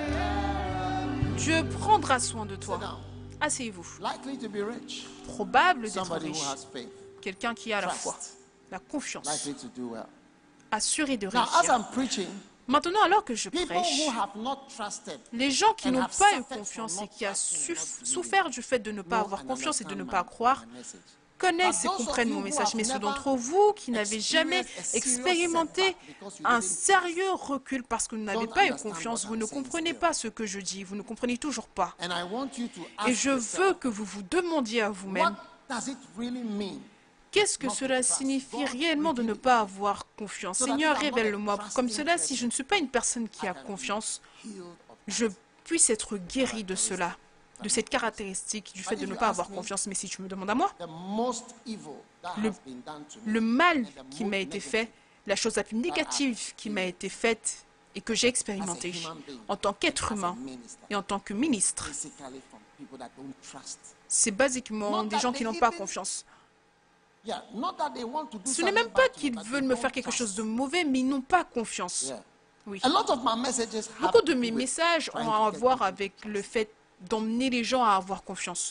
care. Dieu prendra soin de Sit toi. down. Asseyez-vous. Likely to be rich. Probable d'être Somebody who riche, has faith. quelqu'un qui a la foi, Trust. la confiance, Likely to do well. assuré de Now, as réussir. I'm preaching, Maintenant, alors que je people prêche, who have not trusted les gens qui and n'ont have pas eu suffered confiance from et not qui ont trusting, suff- not souffert du fait de ne pas know avoir and confiance et de ne understand pas my- croire, my message. connaissent et But those of comprennent you mon who message. have Mais ceux never d'entre vous qui n'avez jamais experienced a serious expérimenté setback because you un didn't sérieux recul parce que vous n'avez don't pas eu understand confiance, what vous I'm ne saying comprenez still. pas ce que je dis, vous ne comprenez toujours pas. And I want you to Et ask je yourself, veux que vous vous demandiez à what vous-même, does it really mean? qu'est-ce que not to cela trust? signifie God, réellement de ne reveal it. pas avoir confiance? So that Seigneur, if I'm not a révèle-le-moi. Comme trusting cela, si person, je ne suis pas une personne qui I a can be confiance, healed of je puisse être guéri de cela, de cette caractéristique du fait But de if ne you pas ask avoir me, confiance. Mais si tu me demandes à moi, the most evil that Le- has been done to me le mal and the qui most m'a été negative fait, la chose la plus négative qui m'a été faite et que j'ai expérimentée en tant qu'être humain et en tant que ministre, basically from people that don't trust. c'est basiquement des gens qui n'ont pas confiance. Yeah, not that they want to do Ce n'est something même pas bad to me, qu'ils but they veulent me don't faire quelque trust. chose de mauvais, mais ils n'ont pas confiance. Yeah. Oui. A lot of my messages have Beaucoup de to mes do with messages trying ont to à get voir people to avec trust. le fait d'emmener les gens à avoir confiance.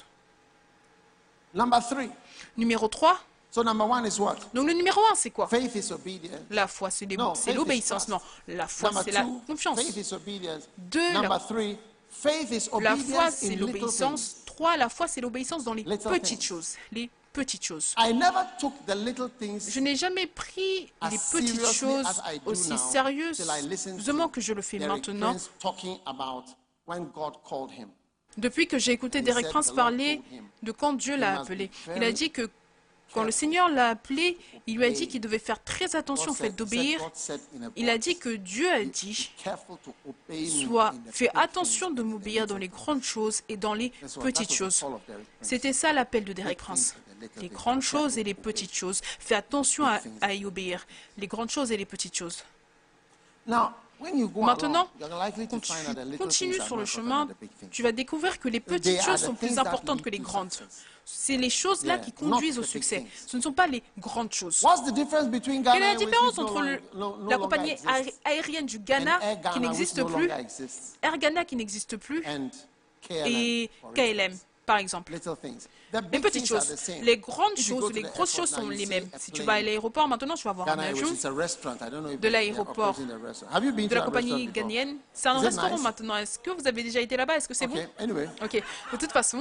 Number three. Numéro trois. So number one is what? Donc le numéro un, c'est quoi? Faith is obedience. La foi, c'est l'é- No, c'est faith is l'obéissance. trust. Non, la foi, Number c'est la two, confiance. faith is obedience. Deux, la- Number three, faith is La obedience foi, in c'est little l'obéissance. things. Trois, la foi, c'est l'obéissance dans les Little petites things. choses. Les petites choses. I never took the little things Je n'ai jamais pris as les petites seriously choses as I do aussi now till I listened sérieusement to que je le fais Derek maintenant. Prince talking about when God called him. Depuis que j'ai écouté He Derek said Prince the Lord parler told him, de quand Dieu "You l'a must be appelé, il a very dit que Quand le Seigneur l'a appelé, il lui a dit qu'il devait faire très attention au fait d'obéir. Il a dit que Dieu a dit, sois, fais attention de m'obéir dans les grandes choses et dans les petites choses. C'était ça l'appel de Derek Prince. Les grandes choses et les petites choses. Fais attention à, à y obéir. Les grandes choses et les petites choses. Maintenant, quand tu continues sur le chemin, tu vas découvrir que les petites choses sont plus importantes que les grandes. C'est les choses-là qui conduisent au succès. Ce ne sont pas les grandes choses. Quelle est la différence entre le- la compagnie aé- aérienne du Ghana qui n'existe plus, Air Ghana qui n'existe plus, et K L M, par exemple? Les petites choses. Les grandes choses, les grosses choses sont les mêmes. Si tu vas à l'aéroport, maintenant, tu vas voir un avion de l'aéroport de la compagnie ghanéenne. C'est un restaurant maintenant. Est-ce que vous avez déjà été là-bas? Est-ce que c'est bon? Ok. De toute façon,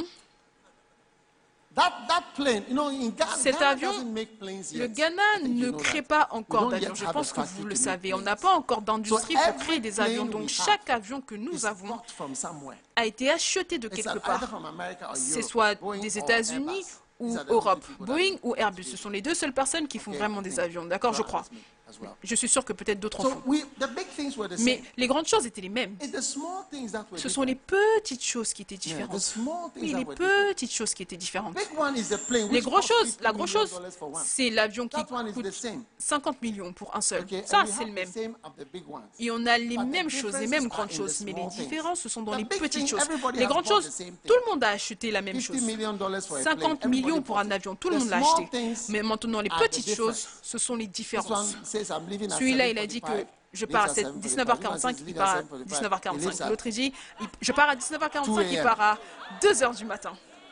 cet avion, le Ghana ne crée pas encore d'avions. Je pense que vous le savez. On n'a pas encore d'industrie pour créer des avions. Donc, chaque avion que nous avons a été acheté de quelque part. C'est soit des États-Unis ou Europe. Boeing ou Airbus. Ce sont les deux seules personnes qui font vraiment des avions. D'accord, je crois. Je suis sûr que peut-être d'autres en font. Mais les grandes choses étaient les mêmes. Ce sont les petites choses qui étaient différentes. Oui, les petites choses qui étaient différentes. Les grosses choses, la grosse chose, c'est l'avion qui coûte cinquante millions pour un seul. Ça, c'est le même. Et on a les mêmes choses, les mêmes grandes choses. Mais les différences, ce sont dans les petites choses. Les grandes choses, tout le monde a acheté la même chose. cinquante millions pour un avion, tout le monde l'a acheté. Mais maintenant, les petites choses, ce sont les différences. Celui-là, il a dit que je pars à dix-neuf heures quarante-cinq, il part à dix-neuf heures quarante-cinq. L'autre, il dit, je pars à dix-neuf heures quarante-cinq, il part à deux heures du matin.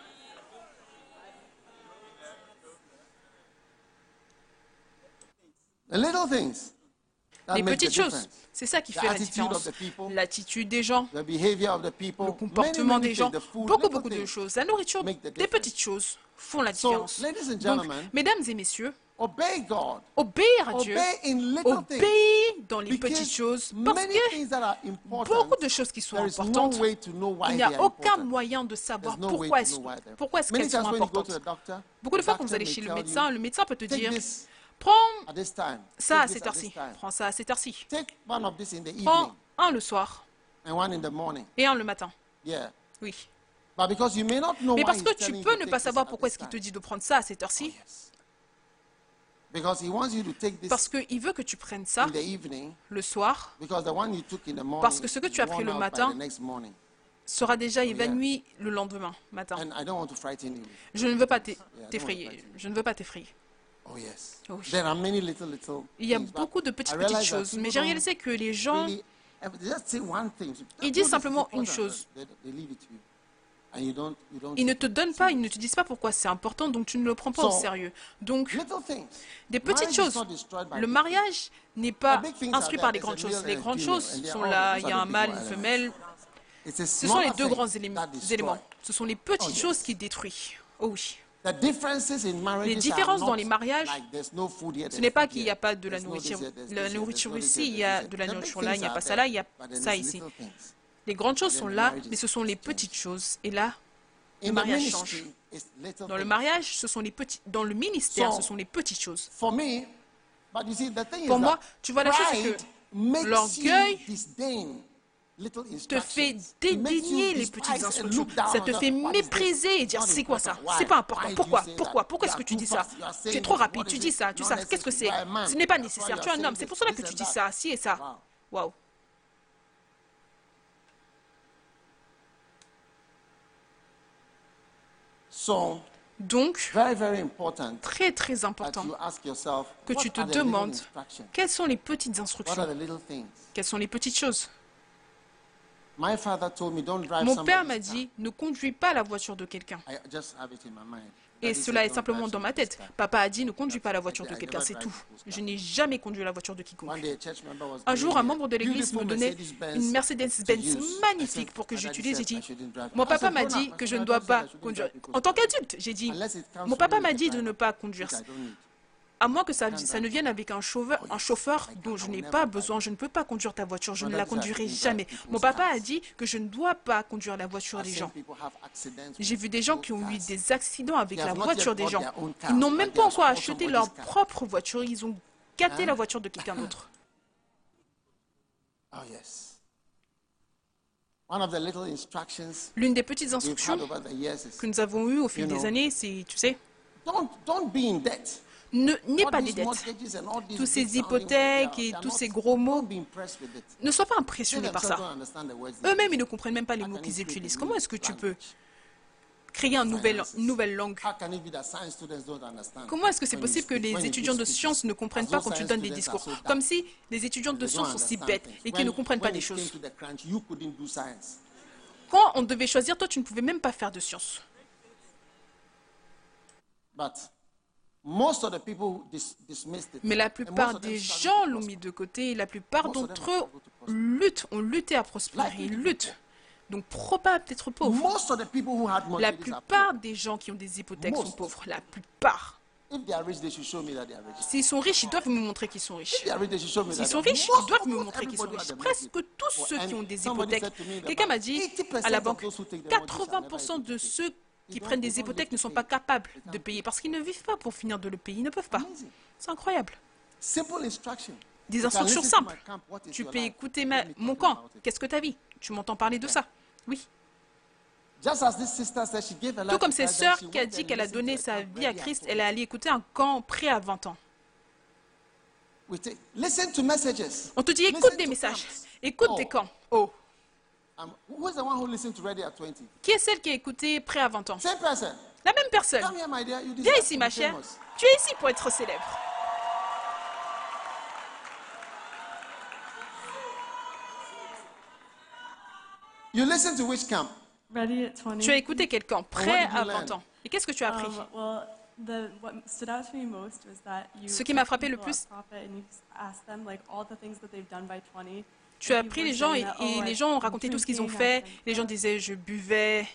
Les petites choses, c'est ça qui fait la différence. L'attitude des gens, le comportement des gens, beaucoup, beaucoup de choses. La nourriture, des petites choses font la différence. Donc, mesdames et messieurs, obéir à Dieu, obéir dans les petites choses, parce que beaucoup de choses qui sont importantes, il n'y a aucun moyen de savoir pourquoi est-ce pourquoi est-ce qu'elles sont importantes. Beaucoup de fois, quand vous allez chez le médecin, le médecin peut te dire, prends ça à cette heure-ci, prends ça à cette heure-ci, prends un le soir et un le matin. Oui. Mais parce que tu peux ne pas savoir pourquoi est-ce qu'il te dit de prendre ça à cette heure-ci. Parce qu'il veut que tu prennes ça le soir, parce que ce que tu as pris le matin sera déjà évanoui le lendemain matin. Je ne veux pas t'effrayer. Je ne veux pas t'effrayer. Oui. Il y a beaucoup de petites petites choses, mais j'ai réalisé que les gens, ils disent simplement une chose. Ils ne te donnent pas, ils ne te disent pas pourquoi c'est important, donc tu ne le prends pas au sérieux. Donc, des petites choses. Le mariage n'est pas instruit par les grandes choses. Les grandes choses sont là, il y a un mâle, une femelle. Ce sont les deux grands éléments. Ce sont les petites choses qui détruisent. Oh oui. Les différences dans les mariages, ce n'est pas qu'il n'y a pas de la nourriture. La nourriture ici, il y a de la nourriture là, il n'y a pas ça là, il y a ça ici. Les grandes choses sont là, mais ce sont les petites choses. Et là, le mariage change. Dans le mariage, ce sont les petits. Dans le ministère, ce sont les petites choses. Pour moi, tu vois, la chose, c'est que l'orgueil te fait dédaigner les petites instructions. Ça te fait mépriser et dire, c'est quoi ça? C'est pas important. Pourquoi? Pourquoi? Pourquoi est-ce que tu dis ça? Tu es trop rapide. Tu dis ça. Tu sais, qu'est-ce que c'est? Ce n'est pas nécessaire. Tu es un homme. C'est pour cela que tu dis ça. Si et ça. Waouh. Donc, très très important que tu te demandes quelles sont les petites instructions, quelles sont les petites choses. Mon père m'a dit, ne conduis pas la voiture de quelqu'un. Et cela est simplement dans ma tête. Papa a dit, ne conduis pas la voiture de quelqu'un, c'est tout. Je n'ai jamais conduit la voiture de quiconque. Un jour, un membre de l'église me donnait une Mercedes-Benz magnifique pour que j'utilise. J'ai dit, mon papa m'a dit que je ne dois pas conduire. En tant qu'adulte, j'ai dit, mon papa m'a dit de ne pas conduire, À moins que ça, ça ne vienne avec un chauffeur, un chauffeur dont je n'ai pas besoin, je ne peux pas conduire ta voiture, je ne la conduirai jamais. Mon papa a dit que je ne dois pas conduire la voiture des gens. J'ai vu des gens qui ont eu des accidents avec la voiture des gens. Ils n'ont même pas encore acheté leur propre voiture, ils ont gâté la voiture de quelqu'un d'autre. Oh yes. One of the little instructions L'une des petites we've instructions had over the years is que nous avons eues au fil You know, des années, c'est, tu sais, don't don't be in debt. ne n'aie All pas des these dettes. mortgages and all these Tous ces big sounding words, hypothèques they et are tous not- ces gros mots, Don't be impressed with it. ne sois pas They impressionné par themselves ça. don't understand the words they Eux-mêmes, use. ils ne comprennent même pas les How mots can qu'ils you create a utilisent. new Comment est-ce que tu peux language? créer une nouvelle, une nouvelle langue? How can it be that science students don't understand Comment est-ce que c'est when you possible que speak- when les you étudiants give de speeches? sciences ne comprennent As pas though quand tu science donnes des students discours? are so dumb. Comme si les étudiants de They don't sciences sont si understand bêtes things. et qu'ils ne When- comprennent pas when des it came choses. to the crunch, you couldn't do science. Quand on devait choisir, toi, tu ne pouvais même pas faire de sciences. But most of the people who dis- dismissed it. Mais la And most plupart of them des struggled gens to l'ont prosper. mis de côté et la plupart Most of them d'entre struggled eux to prosper. luttent, ont lutté à prospérer, Likely ils to be luttent. Donc, probable d'être pauvre. Most of the people who had La mortgages are plupart poor. des gens qui ont des hypothèques sont Most. pauvres. La plupart. If they are rich, they should show me that they are rich. S'ils sont riches, ils doivent me montrer qu'ils sont riches. If they are rich, they should show me S'ils that sont they are riches, Most- ils doivent me almost montrer qu'ils sont everybody riches. had a Presque mortgage. tous ceux qui ont des Somebody hypothèques. said to me that Quelqu'un m'a dit eighty percent à la of banque, those who take the mortgage are quatre-vingts pour cent never de able to ceux pay. qui Ils prennent don't- des ils don't hypothèques get ne sont to pas pay. capables Ils de can't payer parce qu'ils ne vivent pas pour finir de le payer. Ils ne peuvent pas. Amazing. C'est incroyable. Simple instruction. Des You can instructions listen to simples. my camp, what is Tu your peux life? écouter Let ma- me talk mon camp. about it. Qu'est-ce que tu as vu? Tu m'entends parler de ça? Oui. Just as this sister said, she gave her Tout life comme to cette Christ, sœur then she qui a went dit and qu'elle a listened donné to a sa camp vie à ready at Christ, twenty. elle est allée écouter un camp prêt à vingt ans. We take- Listen to messages. On te dit Listen écoute des to messages, camps. écoute Oh. des camps. Oh, Um, who is the one who listened to Ready at twenty? qui est celle qui a écouté prêt à vingt ans? Same person. La même personne. Come here, my dear. You Viens deserve ici, to ma be chère. famous. Tu es ici pour être célèbre. You listen to which camp? Ready at twenty. Tu as écouté quel camp? what Prêt did you à learn? vingt ans. Et qu'est-ce que tu as appris? Um, well, the what stood out to me most was that you. Ce qui m'a took frappé le people plus- at Prophet and you asked them like all the things that they've done by twenty. Tu as And pris people les gens were et, saying that, et oh, les I've gens ont been raconté tout ce qu'ils ont drinking, fait. I've been Les gens drugged. disaient je buvais.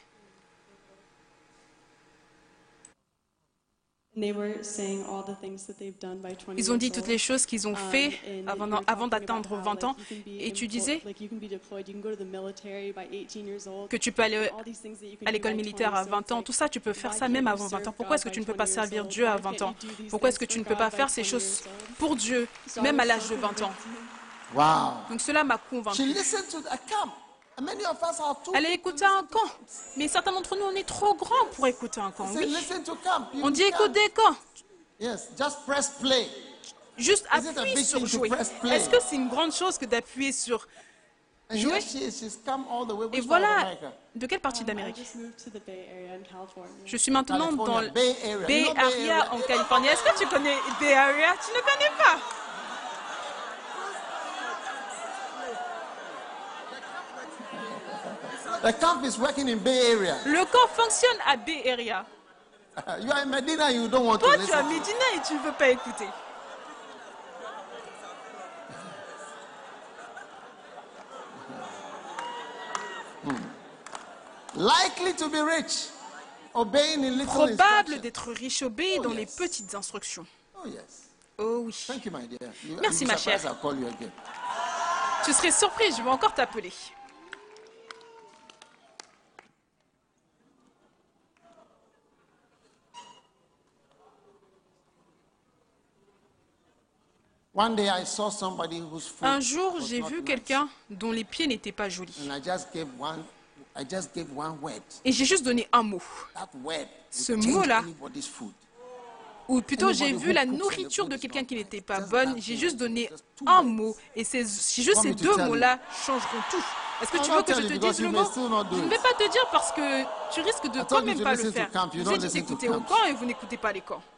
And they were saying all the things that they've done by twenty. Ils ont dit years toutes old. les choses qu'ils ont Um, fait and avant, you were avant talking about d'atteindre how, vingt ans. like, you can be Et tu emplo- disais like, you can be deployed, you can go to the military by eighteen years old. que tu peux aller All these things that you can à do l'école by militaire à twenty. So vingt it's ans. like, Tout ça, tu peux faire why ça can't même you avant vingt ans. serve Pourquoi est-ce que God tu ne by peux pas twenty servir years Dieu à old? Why vingt can't ans? you do these Pourquoi est-ce que things tu ne for peux God pas by faire ces twenty choses years old? pour Dieu, So I même was à l'âge so de vingt ans? convinced. Wow. Donc cela m'a She convaincu. listened to a camp. And many of us are too Elle a big to écouté un listen to camp. camps. Mais certains d'entre nous, on est trop grands pour écouter un camp. Say, Oui. listen to camp. You On dit can't. écoute des camps. Yes, just press play. Juste Is it a appuie big sur thing to jouer. press play? Est-ce que c'est une grande chose que d'appuyer sur And jouer? here she is. She's come all the way. Et Which part of voilà. America? De quelle partie Um, I d'Amérique? just moved to the Bay Area in California. Je suis maintenant dans California, le Bay Area. Bay You know Bay Area Area? en Californie. Est-ce que tu connais Bay Area? Tu ne connais pas? The camp is working in Bay Area. Le camp fonctionne à Bay Area. You are in Medina. You don't want Toi, to tu es à listen. Medina et tu ne veux pas écouter. Likely to be rich, obeying in little Probable instructions. d'être riche, obéi Oh, dans les yes. petites instructions. Oh yes. Oh oui. Thank you, my dear. You, Merci, you'll be ma surprised chère. I'll call you again. Tu serais surprise, je vais encore t'appeler. One day I saw somebody whose foot Un jour, was j'ai not vu nice. quelqu'un dont les pieds n'étaient pas jolis. And I just gave one. I just gave one word. Et j'ai juste donné un mot. That word Ce would change mot-là, anybody's food. Ou plutôt, j'ai Anybody vu who la cooks and the nourriture food de is quelqu'un not qui right. n'était pas Just bonne. that J'ai thing. juste donné Just two un words. mot. Et ces, c'est juste Want ces me to deux tell you? mots-là changeront tout. Est-ce que I'll tu not veux que je tell te you dise because le you mot? may still not do Je ne it. vais pas te dire parce que tu risques de I quand told you même to pas le listen to faire. camp. You Vous don't êtes listen to d'écouter au camp. camp et vous n'écoutez pas les camps.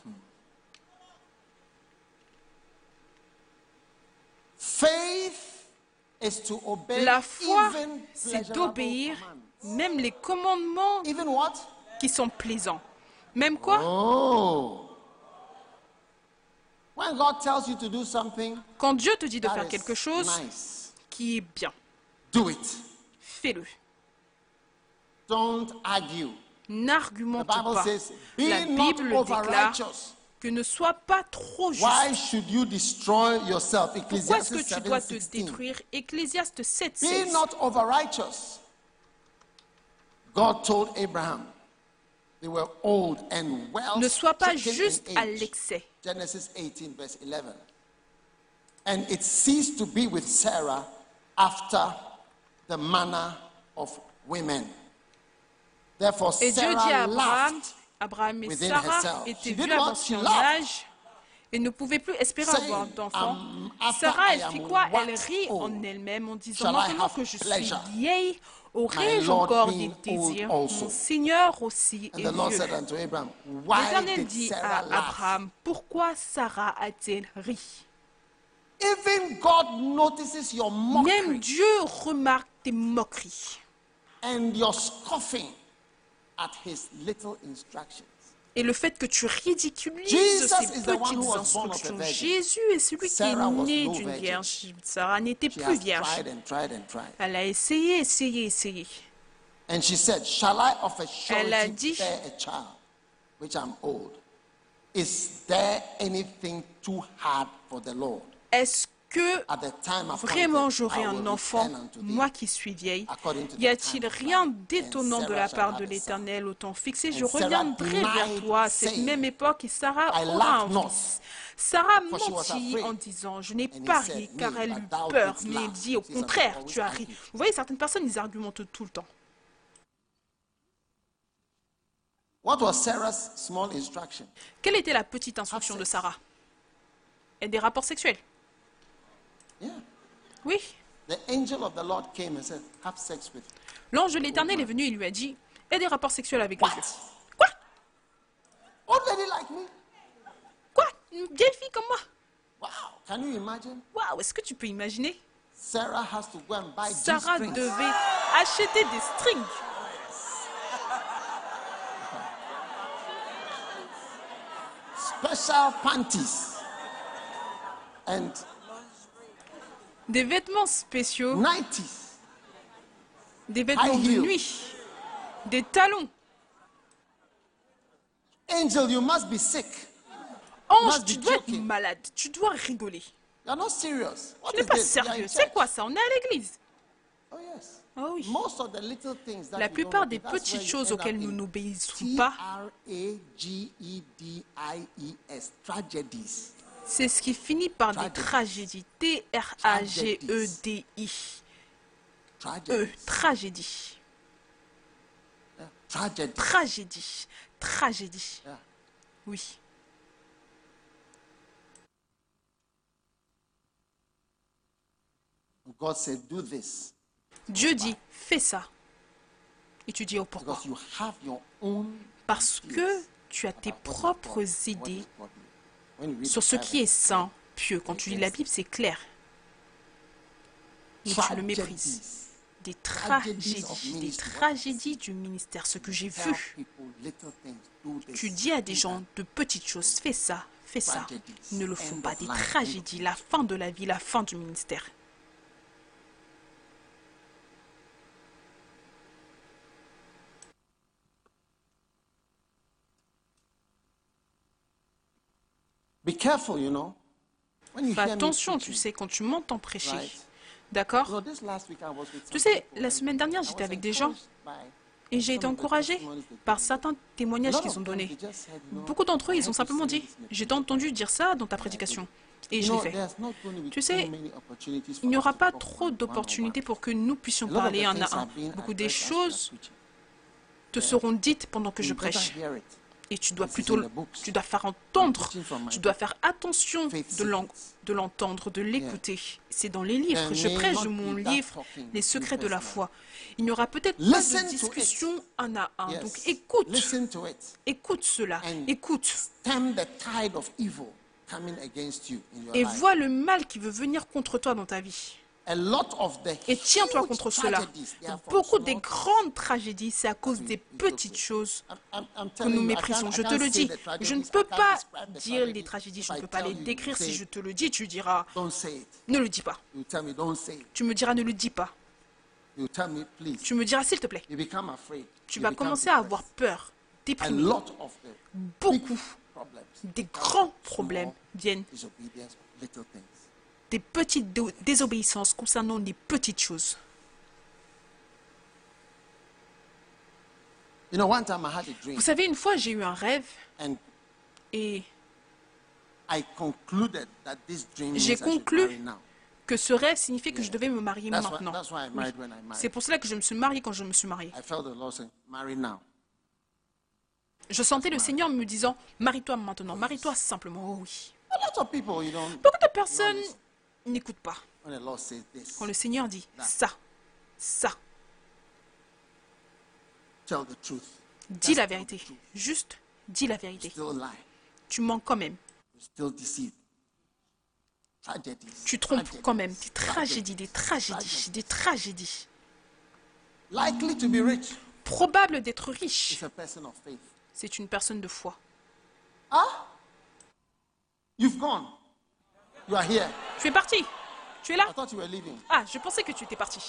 Faith is to obey La foi, even c'est pleasurable d'obéir commands. même les commandements Even what? qui sont plaisants. Même quoi? Oh. When God tells you to do something, Quand Dieu te dit de that faire is quelque chose nice. qui est bien, Do it. fais-le. Don't argue. The N'argumente Bible pas. says, La be not Bible over déclare, righteous. que ne sois pas trop juste. Why should you destroy yourself? Pourquoi est-ce que Ecclesiastes tu dois seven te sixteen. détruire? Ecclésiaste sept, Be seize. not over-righteous. God told Abraham, they were old and well Ne sois pas stricken juste in à age. l'excès. Genesis eighteen, verse eleven. And it ceased to be with Sarah after the manner of women. Therefore, Et Dieu dit à Sarah Abraham, laughed, Abraham et within Sarah herself. étaient She vieux did what? avancés She en laughed. âge et ne pouvaient plus espérer Saying, avoir d'enfants. um, after Sarah, I elle fit am quoi? Elle waxed rit old, en elle-même en disant, shall I maintenant have que je suis pleasure, vieille, my aurais-je Lord encore des being old désirs? also. Mon Seigneur aussi And est the Lord vieux. said unto Abraham, why L'Éternel did dit Sarah à laugh? Abraham, pourquoi Sarah a-t-elle ri? Even God notices your Même mockery Dieu remarque tes moqueries and your scoffing at his little instructions. et le fait que tu ridiculises Jesus ces is the one petites who was born of a instructions. virgin. Jésus est celui Sarah qui was est né no d'une virgin. vierge. Sarah n'était She plus has vierge. tried and tried and tried. Elle a essayé, essayé, essayé. And she said, shall I of a Elle a surety dit, bear a child, which I'm old? Is there anything too hard for the Lord? est-ce que At the time appointed, vraiment j'aurai I will un enfant, return unto thee, moi qui suis vieille? according to the Y a-t-il time of rien life, d'étonnant and de Sarah la shall part have de a son. l'Éternel au temps fixé? Je And Sarah reviendrai vers denied, toi à cette saying, même époque et Sarah I aura laughed un not, fils. Sarah for she was mentit afraid. en disant, je n'ai And he pas said, ri car "Nay, elle but eut thou peur. didst Mais laugh." il dit, au See, some contraire, people tu as always ri. argue. Vous voyez, certaines personnes, ils argumentent tout le temps. What was Sarah's small instruction? Quelle était la petite instruction de sex. Sarah? Et des rapports sexuels. Yeah. Oui. The angel of the Lord came and said, have sex with L'ange de l'Éternel est venu et lui a dit, et des rapports sexuels avec les What? vieux. Quoi? old lady like me. Quoi? Une vieille fille comme moi? Wow. Can you imagine? Waouh, est-ce que tu peux imaginer? Sarah has to go and buy Sarah G-strings. devait acheter des strings. Special panties. And Des vêtements spéciaux, nineties. des vêtements High de heel. nuit, des talons. Angel, you must be sick. Ange, must tu be dois être joking. malade, tu dois rigoler. You're not serious. What Tu n'es is pas this? You are in sérieux. C'est church. quoi ça? On est à l'église. Oh yes. Oh oui. Most of the little things that La we don't plupart obey, des that's where petites you choses end up auxquelles nous in n'obéissons pas, T R A G E D I E S, tragedies. c'est ce qui finit par des Tragedies. tragédies. T R A G E D I. E, Tragedies. tragédie. Yeah. Tragedies. Tragédie. Tragédie. Yeah. Oui. God said, do this Dieu dit, fais ça. Et tu dis, oh pourquoi? because you have your own Parce que ideas tu as tes about what is propres godly, what idées is godly. When you read sur the ce Bible, qui est saint, pieux. Quand tu lis la Bible, c'est clair. Mais tu le méprises. Des tragédies, des tragédies du ministère, ce que j'ai tell vu. people little things, do this, Tu dis à des do gens that. de petites choses, fais ça, fais ça. Tragedies, Ils ne le font end pas. of Des life, tragédies, la fin de la vie, la fin du ministère. Be careful, you know. When you Fais hear me attention, tu preaching, sais, quand tu m'entends prêcher. right? D'accord? You know, this last week I was with Tu some sais, people la and semaine dernière, I j'étais was avec des gens encouraged by et j'ai été some of the encouragée testimonies they par gave. certains A témoignages lot qu'ils of ont them, donnés. they just said, you know, Beaucoup d'entre eux, I ils ont heard you simplement say dit, this in a j'ai preaching. entendu dire ça dans ta prédication. Et You je l'ai know, fait. there's not going to be Tu too sais, many opportunities for il n'y us aura to pas talk trop one- d'opportunités one-on-one. pour que nous puissions A lot of parler the un things à un. are being Beaucoup des addressed as we are choses preaching. te seront dites pendant que je You better prêche. hear it. Et tu dois This is plutôt, in the books. tu dois faire entendre, preaching from my tu dois book. faire attention Faith de l'en- secrets. de l'entendre, de l'écouter. C'est dans les livres. There Je may prêche not de mon be that livre, talking Les secrets de la personally. foi. Il n'y aura peut-être pas Listen de to it. discussion un à un. Yes. Donc écoute, Listen to it. écoute cela, And écoute. stem the tide of evil coming against you in your Et life. vois le mal qui veut venir contre toi dans ta vie. A lot of the Et tiens-toi huge contre cela. tragedies, they are from Beaucoup small des things. grandes tragédies, c'est à cause we- des we petites don't choses I'm- I'm- I'm que telling nous you, I méprisons. can't- Je I te can't le say dis. the tragedies, Je ne I peux can't pas describe the dire les tragedies. tragédies, If je ne I peux pas tell les you, you décrire. say Si it. je te le dis, tu diras, Don't say it. ne le dis pas. You tell me, don't say it. Tu me diras, ne le dis pas. You tell me, please. Tu me diras, s'il te plaît. You become afraid. Tu You vas become commencer à depressed. avoir peur, A déprimé. lot of the Beaucoup problems. Des grands problèmes viennent Disobedience, little things. des petites dé- désobéissances concernant les petites choses. You know, one time I had a dream, Vous savez, une fois, j'ai eu un rêve and et I concluded that this dream means j'ai I should conclu marry now. que ce rêve signifiait que je devais me marier That's why, maintenant. that's why I married when I C'est married. pour cela que je me suis mariée quand je me suis mariée. I felt the Lord saying, marry now. Je sentais le Seigneur me disant, marie-toi maintenant, marie-toi simplement. Oh oui. A lot of people, you don't, Beaucoup de personnes n'écoutent pas when the Lord says this, quand le Seigneur dit ça, ça. tell the truth. Dis la vérité. Juste, dis la vérité. Still lie. Tu mens quand même. You still deceive. Tragedies. Tu trompes tragedies, quand même. Des tragédies, des tragédies, tragedies. des tragédies. Likely to be rich Probable d'être riche. is a person of faith. C'est une personne de foi. Ah? You've gone. You are here. Tu es parti. Tu es I là. thought you were leaving. Ah, je pensais que tu étais parti.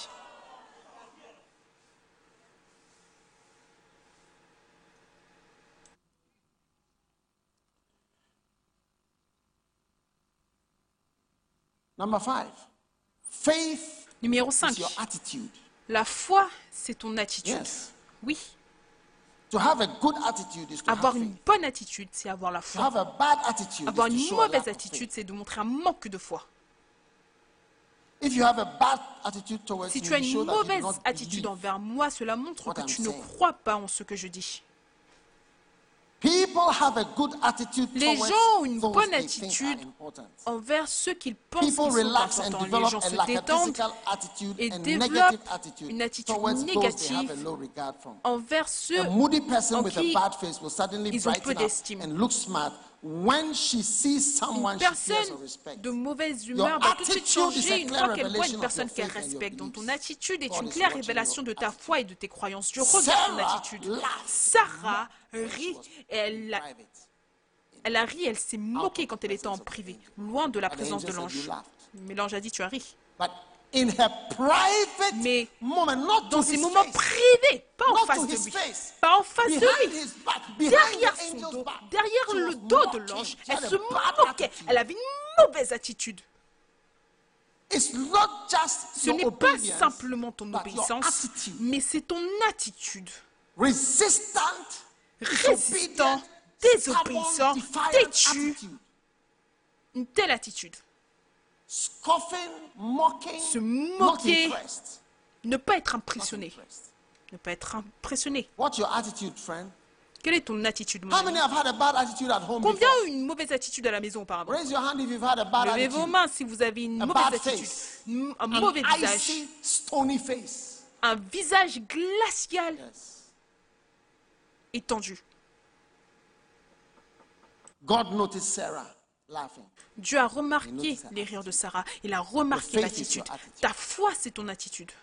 Number five. Faith Numéro is cinq. your attitude. La foi, c'est ton attitude. Yes. Oui. To have a good attitude is to Avoir have une faith. bonne attitude, c'est avoir la To foi. have a bad attitude Avoir is to une show a lack mauvaise of attitude, faith. c'est de montrer un manque de foi. If you have a bad attitude towards Si me, tu as you une show that you do mauvaise not attitude believe. envers moi, cela montre what que I'm tu ne saying. crois pas en ce que je dis. People have a good attitude Les towards gens ont une those bonne they think attitude are important. envers ceux qu'ils pensent qu'ils People sont relax and importants. Les develop gens a se détendent lackadaisical attitude et and développent negative attitude une attitude towards those they have a négative low regard from. envers ceux A moody person en with a qui bad face will suddenly ils ont peu brighten up d'estime. and look smart when she sees someone Une she cares personne or respects. de mauvaise Your humeur va tout de suite attitude is a changer une clear fois qu'elle voit revelation une of personne your qu'elle faith and your respecte. Donc ton beliefs. attitude est God une is claire watching révélation your de ta attitude. foi et de tes croyances. Je regarde ton Sarah attitude. laughed. Sarah rit et elle a, Private. elle a ri, elle s'est moquée quand elle était en privé, loin de la But the présence de angel said, l'ange. "You laughed." Mais l'ange a dit, tu as ri. But in her private Mais moment, not dans to ces his moments face, privés, pas en not face to de his lui, face, pas en face de behind lui, his back, behind derrière the son angel's dos, back, derrière she le was dos de mocking. l'ange, She elle had a se bad moquait. attitude. Elle avait une mauvaise attitude. It's not just Ce your n'est pas obedience, simplement ton but your obéissance, attitude. mais c'est ton attitude. Resistant, Résistant, disobedient, désobéissant, stubborn, defiant têtu. attitude. Une telle attitude. Scoffing, mocking, Se not moquer, impressed. ne pas être Not impressionné. impressed. Ne pas être impressionné. What's your attitude, friend? Quelle est ton attitude, mon How ami? many have had a bad attitude at home Combien before? ont eu une mauvaise attitude à la maison auparavant? Raise your hand if you've had a bad Levez vos attitude. mains si vous avez une A mauvaise bad attitude. face. M- Un An mauvais visage. icy, stony face. Un visage glacial Yes. et tendu. God noticed Sarah laughing. Dieu a remarqué notice her les rires de Sarah. Il a remarqué Your faith is l'attitude. your attitude. Ta foi, c'est ton attitude.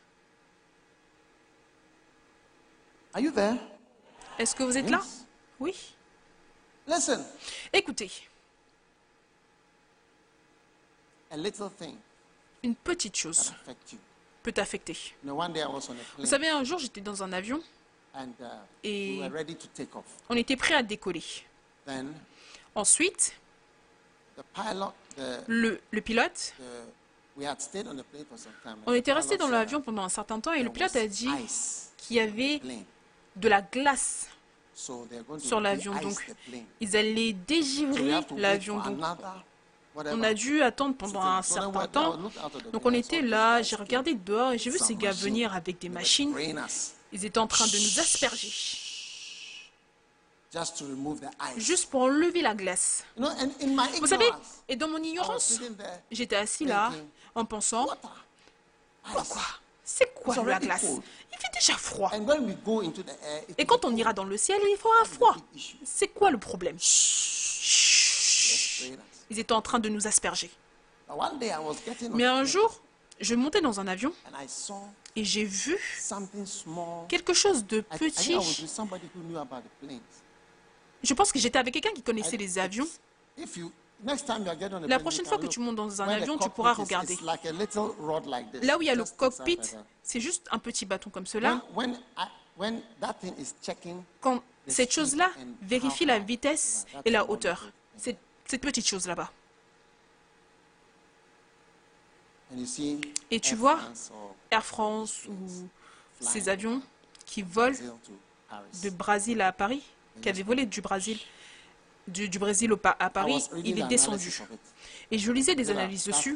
Are you there? Est-ce que vous êtes là? Yes. Oui. Listen, Écoutez, a little thing une petite can chose affect you. peut t'affecter. You know, one day I was on a Vous plane savez, un jour, j'étais dans un avion. and uh, Et- we were ready to take off. On était prêt à décoller. Then Ensuite, the pilot, the, le, le pilote, the we had stayed on the plane for some time. and on the était resté pilot dans said l'avion pendant un certain temps et there le pilote was a dit ice qu'il y avait plane. de la glace So they're going to sur l'avion. de-ice Donc, the plane. ils allaient So we dégivrer have to wait l'avion. for Donc, another, on whatever. a dû attendre pendant un So then certain when I temps. looked out of the Donc, window, on I était saw là, these j'ai guys regardé dehors et j'ai vu some ces gars machines. venir avec des They were machines. spraying us Ils étaient en train de nous asperger, just to remove the ice. juste pour enlever la glace. You know, and in my Vous savez, ignorance, et dans mon I was ignorance, sitting there j'étais assis là, thinking, en pensant, water, ice. pourquoi? C'est quoi It's la already glace? cold. Il fait déjà froid. And when we go into the air, it Et will quand be on cold. ira dans le ciel, il fera froid. Big issue. C'est quoi le problème? Spraying us. Ils étaient en train de nous asperger. But one day I was getting on Mais the un plane jour, je montais dans un avion and I saw et j'ai vu something small. quelque chose de I, I think I was petit. with somebody who knew about the planes. Je pense que j'étais avec quelqu'un qui connaissait I- les avions. If you next time you are getting on a La plane, prochaine you fois can que look. tu montes dans un Where the avion, tu cockpit pourras is- regarder. it's like a little rod like this, Là où il y a le just inside cockpit, like that. c'est juste un petit bâton comme cela. When, when, I, when that thing is checking Quand Cette chose-là vérifie la vitesse et la hauteur. Cette, cette petite chose là-bas. Et tu vois Air France ou ces avions qui volent de Brésil à Paris, qui avaient volé du Brésil, du, du Brésil au, à Paris, il est descendu. Et je lisais des analyses dessus.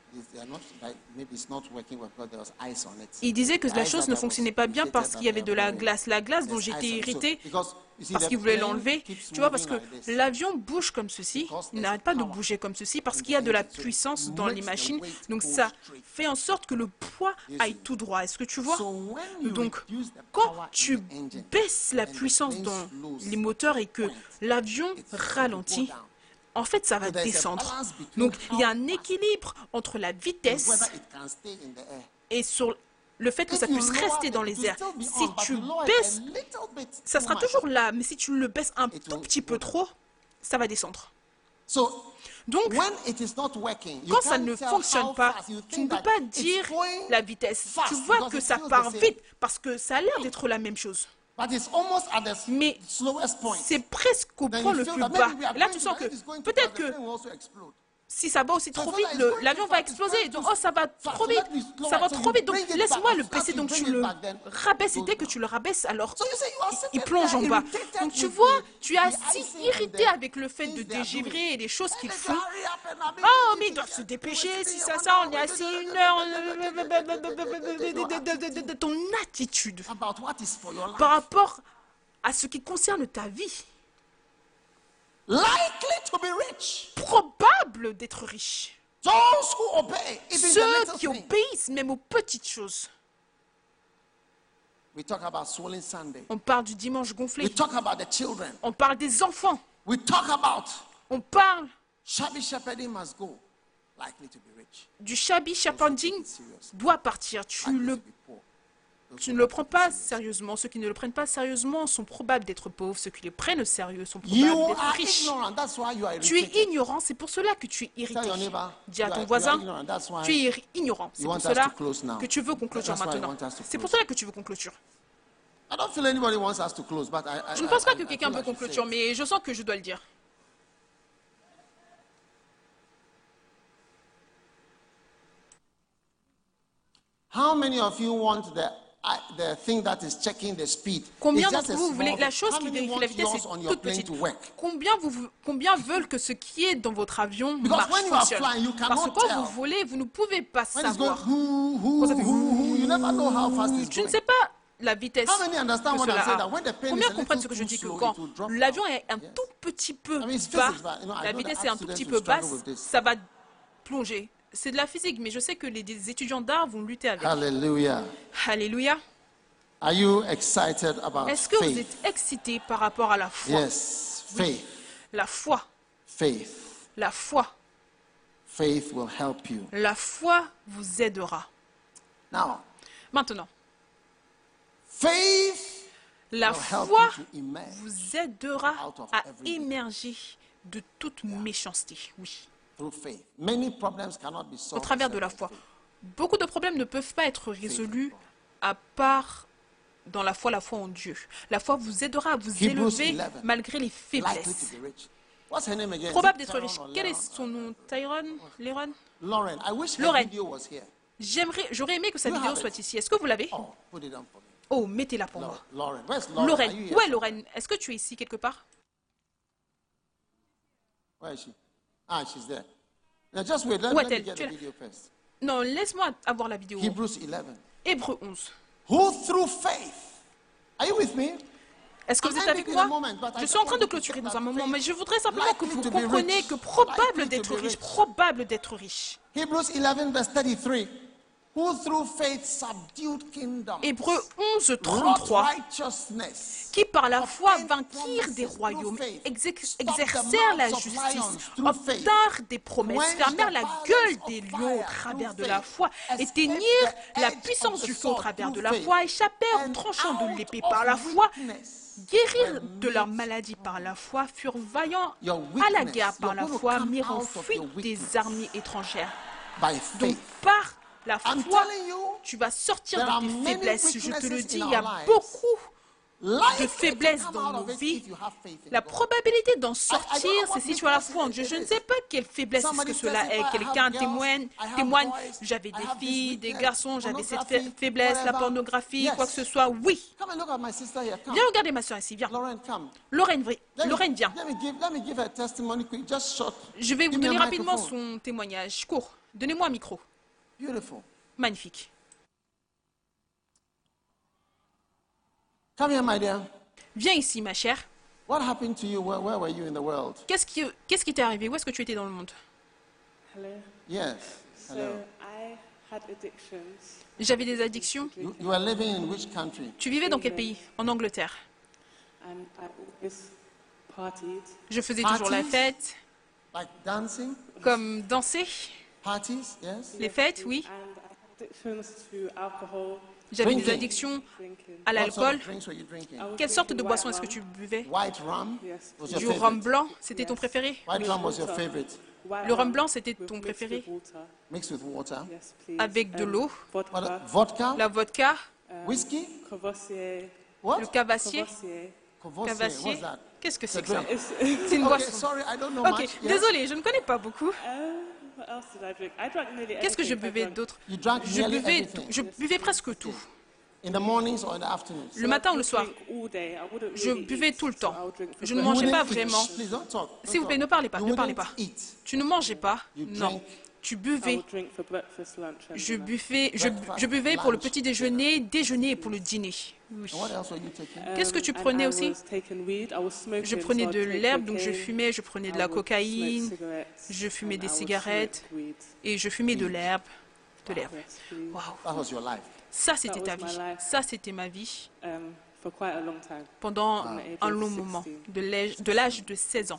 Il disait que la chose ne fonctionnait pas bien parce qu'il y avait de la glace. La glace dont j'étais irritée parce qu'il voulait l'enlever. Tu vois, parce que l'avion bouge comme ceci, il n'arrête pas de bouger comme ceci parce qu'il y a de la puissance dans les machines. Donc ça fait en sorte que le poids aille tout droit. Est-ce que tu vois? Donc quand tu baisses la puissance dans les moteurs et que l'avion ralentit, en fait, ça va descendre. Donc, il y a un équilibre entre la vitesse et sur le fait que ça puisse rester dans les airs. Si tu baisses, ça sera toujours là, mais si tu le baisses un tout petit peu trop, ça va descendre. Donc, quand ça ne fonctionne pas, tu ne peux pas dire la vitesse. Tu vois que ça part vite parce que ça a l'air d'être la même chose. Mais c'est presque au point le plus bas. Et là, tu sens que peut-être que si ça va aussi trop vite, l'avion va exploser. Donc, oh, ça va trop vite. Ça va trop vite. Donc, laisse-moi le baisser. Donc, tu le rabaisses. Et dès que tu le rabaisses, alors, il, il plonge en bas. Donc, tu vois, tu es assez irrité avec le fait de dégivrer et les choses qu'ils font. Oh, mais ils doivent se dépêcher. Si ça, ça, on est assis une heure. De ton attitude par rapport à ce qui concerne ta vie. Likely to be rich. Probable d'être riche. Those who obey, even the Ceux little qui things. obéissent même aux petites choses. We talk about swollen Sunday. On parle du dimanche We gonflé. talk about the children. On parle des enfants. We talk about On parle shabby shepherding must go. Likely to be rich. du shabby shepherding doit partir. Tu, le, tu ne le prends pas sérieusement. Ceux qui ne le prennent pas sérieusement sont probables d'être pauvres. Ceux qui le prennent au sérieux sont You probables d'être are riches. ignorant. That's why you are Tu es irritated. ignorant, c'est pour cela que tu es irrité. Tell your neighbor, Dis à you ton are- voisin, you are ignorant. That's why tu es ignorant. C'est you pour want us cela to close now. que tu veux qu'on clôture That's why you maintenant. want us to C'est pour close. cela que tu veux qu'on clôture. I don't feel anybody wants us to close, but I, I, Je ne pense pas I- que I quelqu'un feel veut I qu'on should say clôture, it. mais je sens que je dois le dire. How many of you want the uh, the thing that is checking the speed? Combien It's just d'entre a vous voulez small la thing. chose How qui many vérifie want la vitesse yours est on your toute plane petite? to work? Combien, vous, combien veulent que ce qui est dans votre avion Because marche, when you are fonctionne? flying, you Parce que cannot quand tell. vous volez, vous ne pouvez pas When it's going savoir. whoo, whoo, Quand ça fait whoo, whoo, you never know how fast it's Tu ne going. sais pas la vitesse How many understand que what I'm cela saying? a. That when the plane Combien is a comprennent little ce que je too dis que slow, quand it will drop l'avion down. est un Yes. tout petit peu I mean, it's bas, physics, but, you know, I la know that vitesse est un tout students petit will peu struggle basse, with this. ça va plonger. C'est de la physique, mais je sais que les des étudiants d'art vont lutter avec. Hallelujah. Alléluia. Are you excited about Est-ce que vous faith? êtes excités par rapport à la foi? Yes, faith. La foi, Faith. la foi, Faith will help you. la foi vous aidera. Now, Maintenant, faith la will help foi you to emerge vous aidera out of à every émerger de toute méchanceté. Oui, through faith. Many problems cannot be au solved travers de la except foi. by faith. Beaucoup de problèmes ne peuvent pas être résolus à part dans la foi, la foi en Dieu. La foi vous aidera à vous Hebrews élever eleven. malgré les Likely faiblesses. to be rich. What's her name again? Probable Is it d'être riche. Tyrone or Quel est Leron? son nom? Tyrone? Léron? Lauren. I wish her Lauren. video was here. J'aimerais, j'aurais aimé que sa You vidéo have soit it. ici. Est-ce que vous l'avez? Oh, put it on for me. Oh, mettez-la pour Lau- moi. Lauren. Where's Lauren? Are you Lorraine. here? Où est Lorraine? Est-ce que tu es ici quelque part? Where is she? Ah, she's there. Now just wait. Let, Où let me est-elle? get Tu es the là. video first. Non, laisse-moi avoir la vidéo. Hebrews eleven. Hébreux onze. Who through faith? Are you with me? Est-ce que I'm vous êtes ending avec in a moi? moment, but I Je just suis en train want de you to clôturer get dans that un moment, faith. mais je voudrais simplement que Likely vous to be compreniez rich. que probable Likely to d'être be riche, rich. probable d'être riche. Hebrews eleven verse thirty-three. Who through faith subdued kingdoms. Hébreux onze, wrought trente-trois. righteousness. Qui par la foi obtained vainquirent des promises royaumes, through faith, exé- stopped the exercèrent la mouths of justice, lions through faith, obtinrent des promesses, quenched fermèrent the la violence gueule of des fire lions au through travers de faith, la foi, escaped éteignirent the la edge puissance of du the feu au sword travers through de la faith, foi, échappèrent au and tranchant de out l'épée of par la foi, weakness guérirent were de leur made maladie par la foi, furent vaillants Your à la weakness, guerre par you're la going to foi, come mirent en out of fuite your des weakness armées étrangères. by Donc faith. par la I'm foi, telling you, tu vas sortir there are de tes many faiblesses. Je te le weaknesses dis, in il y a our lives. beaucoup de faiblesse dans nos vies, la probabilité d'en sortir, c'est si tu as la foi en Dieu. Je ne sais pas quelle faiblesse est-ce que cela est. Quelqu'un témoigne, témoigne, j'avais des filles, des garçons, j'avais cette fa- faiblesse, la pornographie, quoi que ce soit. Oui. Viens regarder ma soeur ici, viens. Lorraine, vi- Lorraine, viens. Je vais vous donner rapidement son témoignage. Court. Donnez-moi un micro. Magnifique. Come here, my dear. Viens ici, ma chère. What happened to you? Where, where were you in the world? Qu'est-ce qui qu'est-ce qui t'est arrivé? Où est-ce que tu étais dans le monde? Hello. Yes. So Hello. I had addictions. J'avais des addictions. You, you are living in which country? Tu vivais dans quel pays? En Angleterre. And I always partied. Je faisais toujours la Parties? fête, Like dancing? comme danser. Parties? Yes. Les fêtes, oui. And I had addictions to alcohol, J'avais des Drinking. addictions drinking. à What sort l'alcool. of drinks were you drinking? I was Quelle sorte de drinking boisson white est-ce que tu rum. buvais? White rum Yes. was your Du favorite. rhum blanc, c'était ton préféré? White rum was your favorite. White Le rhum rum blanc, c'était with ton mixed préféré? with water. Mixed with water. Yes, please. Avec de Um, l'eau, What, Vodka. vodka? la vodka, Whiskey? Courvoisier. What? le cavassier. Courvoisier. Courvoisier. Cavassier. What's that? Qu'est-ce que c'est It's que a ça? drink. It's, C'est une Okay, boisson. sorry, I don't know Ok, much. Yes? désolée, je ne connais pas beaucoup. um, what else did I drink? I drank nearly Qu'est-ce que je everything. I buvais drank d'autre? You drank Je nearly buvais, everything. je buvais presque tout. In the mornings or in the afternoons? Le matin ou le would soir. drink all day. I wouldn't Je really buvais eat, tout le so temps. I would drink for Je ne You mangeais breakfast. pas wouldn't eat. vraiment. Please don't talk. Don't S'il vous plaît, talk. ne parlez pas, You ne parlez wouldn't pas. eat. Tu ne mangeais pas? You Non. drank. Tu I buvais. would drink for breakfast, lunch, and Je dinner. buvais, je, je buvais pour le petit déjeuner, déjeuner et pour le dîner. Oui. And what else were you taking? Qu'est-ce que tu Um, and prenais I aussi? was taking weed. I was smoking, Je so prenais I'd de take l'herbe, donc je cocaine, fumais, je prenais de I la would smoke cocaïne, cigarettes, je fumais and des I would cigarettes smoke weed. et je fumais de l'herbe. De l'herbe. Yes, please. Waouh. That was your life. Ça, c'était That ta was my vie. life. Ça, c'était ma vie Um, for quite a long time. pendant From the age un of long sixteen. moment, de l'âge de l'âge de seize ans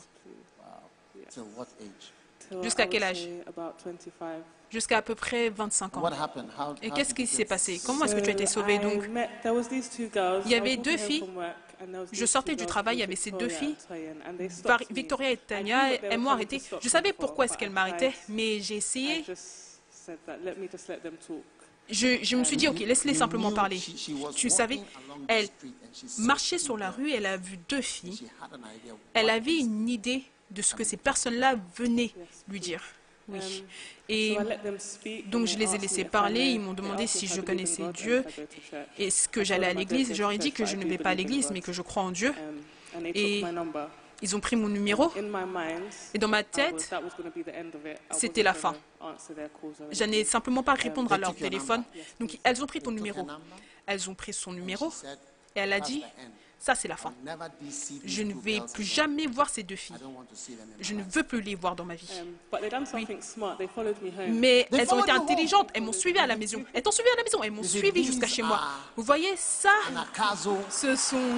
Till what age? Till Jusqu'à I quel would âge? say about twenty-five. jusqu'à à peu près vingt-cinq ans. What happened? How, Et how qu'est-ce did qui you s'est get- passé? Comment est-ce que tu as été So sauvée I donc? met- there was these two girls. Il y I avait was deux walking home filles. from work, and there was Je these sortais two du girls travail, il y called avait ces deux Victoria filles. and Toyin, and they Var- stopped me. Victoria et I knew Tania, what they elles were m'ont trying arrêté. to stop Je me savais for, pourquoi est-ce but qu'elles I m'arrêtaient, tried. mais j'ai I essayé. just said that, let me just let them talk. Je, je me suis dit, ok, laisse-les You simplement knew parler. she- she was Tu walking savais, along the elle street and she saw marchait two sur la girls. rue, elle a vu deux filles. She had an idea Elle what avait is- une idée de ce que ces personnes-là venaient lui dire. Oui. Um, Et so I let them speak, donc and je they les ai asked me laissés if I parler, know- ils m'ont they demandé asked me si if I je believe in connaissais God and Dieu, if I go to church. est-ce que I j'allais à told them I don't l'église. go Je leur ai to dit church, que but je I ne do vais pas à believe in l'église, God. mais que je crois en Dieu. Um, and they Et took my number. ils ont pris mon numéro. In my mind, Et dans ma I was- tête, that was gonna be the end of it. I c'était wasn't la gonna fin. answer their calls or j'allais anything. simplement pas répondre à they leur took your téléphone. number. Donc elles ont pris ton They took numéro. her number Elles ont pris son and numéro she said, et elle a "That's dit, the end. ça c'est la fin. I'll never deceive Je these ne two vais girls plus again. jamais voir ces deux I filles. don't want to see them in my Je ne life." veux plus les voir dans ma vie. Um, but they done something smart. They followed me home. Mais They elles ont followed été you home. intelligentes, elles m'ont suivi à la maison. Elles t'ont suivi à la maison, elles m'ont You see, suivi these jusqu'à chez moi. are- Vous voyez, ça, Anakazo, ce sont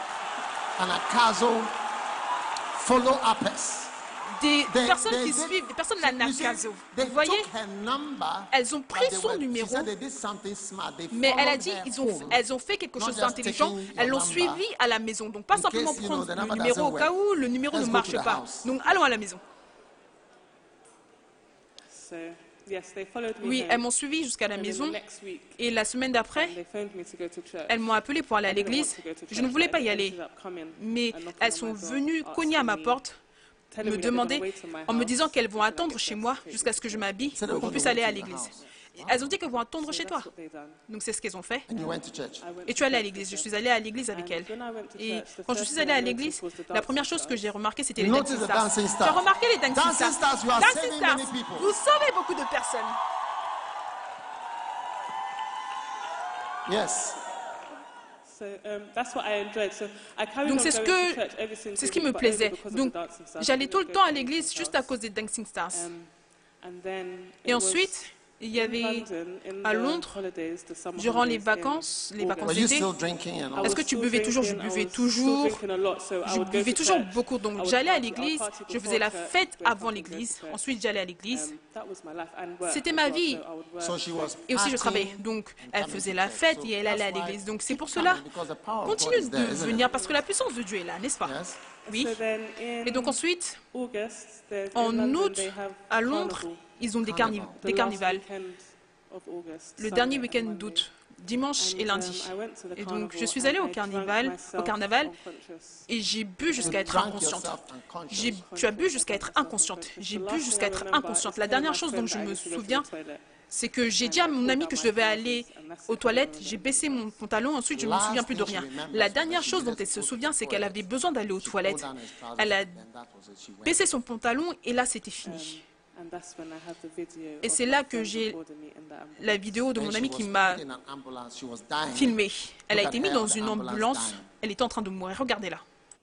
Anakazo, follow-uppers. des They- personnes they qui did- suivent, des personnes de la You see, Nakazo. they Vous voyez, took her number, elles ont but pris they son were- numéro, she said they did something smart. They mais elle a followed dit, her ils ont, home. elles ont fait quelque Not chose just d'intelligent, taking your elles l'ont number. suivi à la maison. Donc pas In simplement case, you know, prendre the le number numéro au doesn't cas work. où le numéro Let's ne go marche to the pas. house. Donc allons à la maison. So yes, they followed me Oui, home. elles m'ont suivi jusqu'à la And then maison the next week, et la semaine d'après, they phoned me to go to church. elles m'ont appelé pour aller à I didn't want l'église. to go to Je church, ne voulais but pas I y aller, ended up coming mais and knocking elles on sont my door, venues cogner à ma asking me- porte, telling me me that they're gonna demander, wait in my en me house disant qu'elles vont until I attendre get chez dressed moi to take jusqu'à me ce que to je church. m'habille So they pour were qu'on going puisse to aller wait à in the l'église. house. Elles ont dit qu'elles vont attendre So chez toi. that's what they done. Donc c'est ce qu'elles ont fait. And you went to church. I went Et to tu es allé à church l'église. Je with suis them. allée à l'église avec And elles. when I went to Et church, the quand je first suis thing allée I à noticed l'église, was the la dancing première chose que stars. j'ai remarqué, c'était les Notice dancing the stars. dancing Tu as stars. remarqué les dancing Dancing stars. stars, you are Dancing saving stars. many people. Vous sauvez beaucoup de personnes. Yes. So um, that's what I enjoyed. So I carried Donc on c'est ce going to que church every single c'est ce qui week, me but plaisait. only because of Donc the dancing stars. I j'allais didn't tout le go temps to à the l'église dancing juste à stars. cause des dancing stars. Um, and then Et it ensuite, il y was in avait London, in à the Londres, holidays, the summer durant les holidays in vacances, les August. vacances Were you d'été, still drinking and all est-ce I que was tu still buvais toujours? Je drinking, I buvais was still toujours. drinking a lot, so I Je would go buvais to toujours church. beaucoup. I Donc would j'allais à party- I would l'église, party je before faisais la church, fête wake up avant and go to l'église. church. Ensuite j'allais à l'église. Um, that was my life and work C'était as ma well, vie. so I would work. So she was Et aussi je partying travaillais. Donc and elle coming faisait to la church. fête So et elle allait à that's why l'église. Donc c'est keep pour cela, coming, because the power of God continue is there, de isn't venir it? parce que la puissance de Dieu est là, n'est-ce pas? Yes. Oui. So then in Et donc ensuite, August, there's- en in London, août, they have à Londres, carnival. ils ont des, carni- Carnival. The des last carnivals. weekend of August, Le dernier Sunday and week-end Monday. d'août, dimanche et And, lundi. um, I went to the Et donc, je carnival suis and allée au I drank carnaval, au myself carnaval unconscious. et j'ai bu jusqu'à You être drank inconsciente. yourself J'ai- unconscious. Tu as bu jusqu'à être inconsciente. J'ai bu jusqu'à être inconsciente. La dernière chose dont je me souviens, c'est que j'ai dit à mon ami que je devais aller aux toilettes, j'ai baissé mon pantalon, ensuite je ne me souviens plus de rien. La dernière chose dont elle se souvient, c'est qu'elle avait besoin d'aller aux toilettes. Elle a baissé son pantalon et là c'était fini. Et c'est là que j'ai la vidéo de mon ami qui m'a filmé. Elle a été mise dans une ambulance, elle était en train de mourir, regardez-la.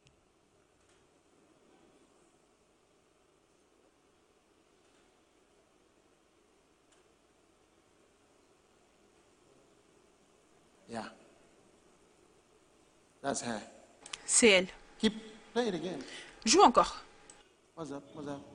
Yeah. That's her. C'est elle. Keep play it again. Joue encore. What's up? What's up?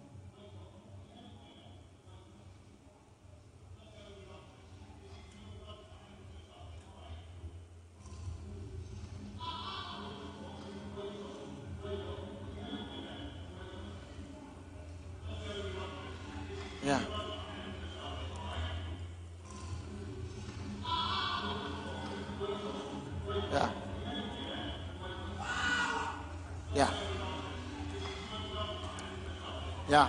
Yeah. Yeah. Yeah. Yeah.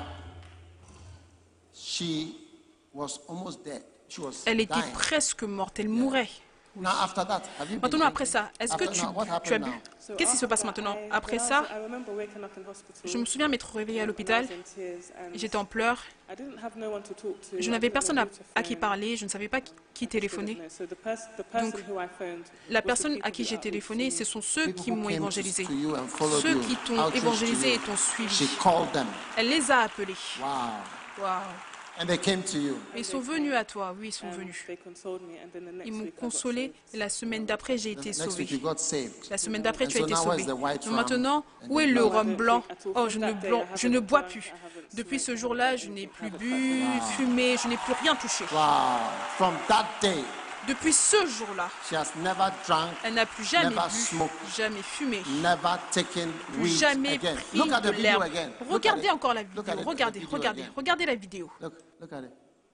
She was almost dead. She was Elle était dying. presque morte, elle mourait. Now after that, have you been Maintenant, après drinking? ça, est-ce que After- tu, now, what tu as happened bu? now? Qu'est-ce qui se passe maintenant? Après ça, je me souviens m'être réveillée à l'hôpital, j'étais en pleurs, je n'avais personne à, à qui parler, je ne savais pas qui, qui téléphoner. Donc, la personne à qui j'ai téléphoné, ce sont ceux qui m'ont évangélisé. Ceux qui t'ont évangélisé et t'ont She suivi. called them. Elle les a appelés. Wow. Waouh. And they came to you. Ils sont venus à toi, oui, ils sont venus. Ils m'ont consolé et la semaine d'après, j'ai été Next week sauvée. you got saved. La semaine d'après, And tu as so été now sauvé. where's the white Donc rum maintenant, and où the est le blood? rhum blanc? Oh, je ne, blanc, je ne bois plus. Depuis ce jour-là, je n'ai plus bu, fumé, je n'ai plus rien touché. Wow. From that day, Depuis ce jour-là, she has never drunk, elle n'a plus jamais never bu, smoked, jamais fumé, never taken plus weed jamais again. pris Look at de the video l'herbe. again. Look at Regardez it. encore la Look vidéo, at it, the regardez, video regardez, again. regardez la vidéo. Look, look at it.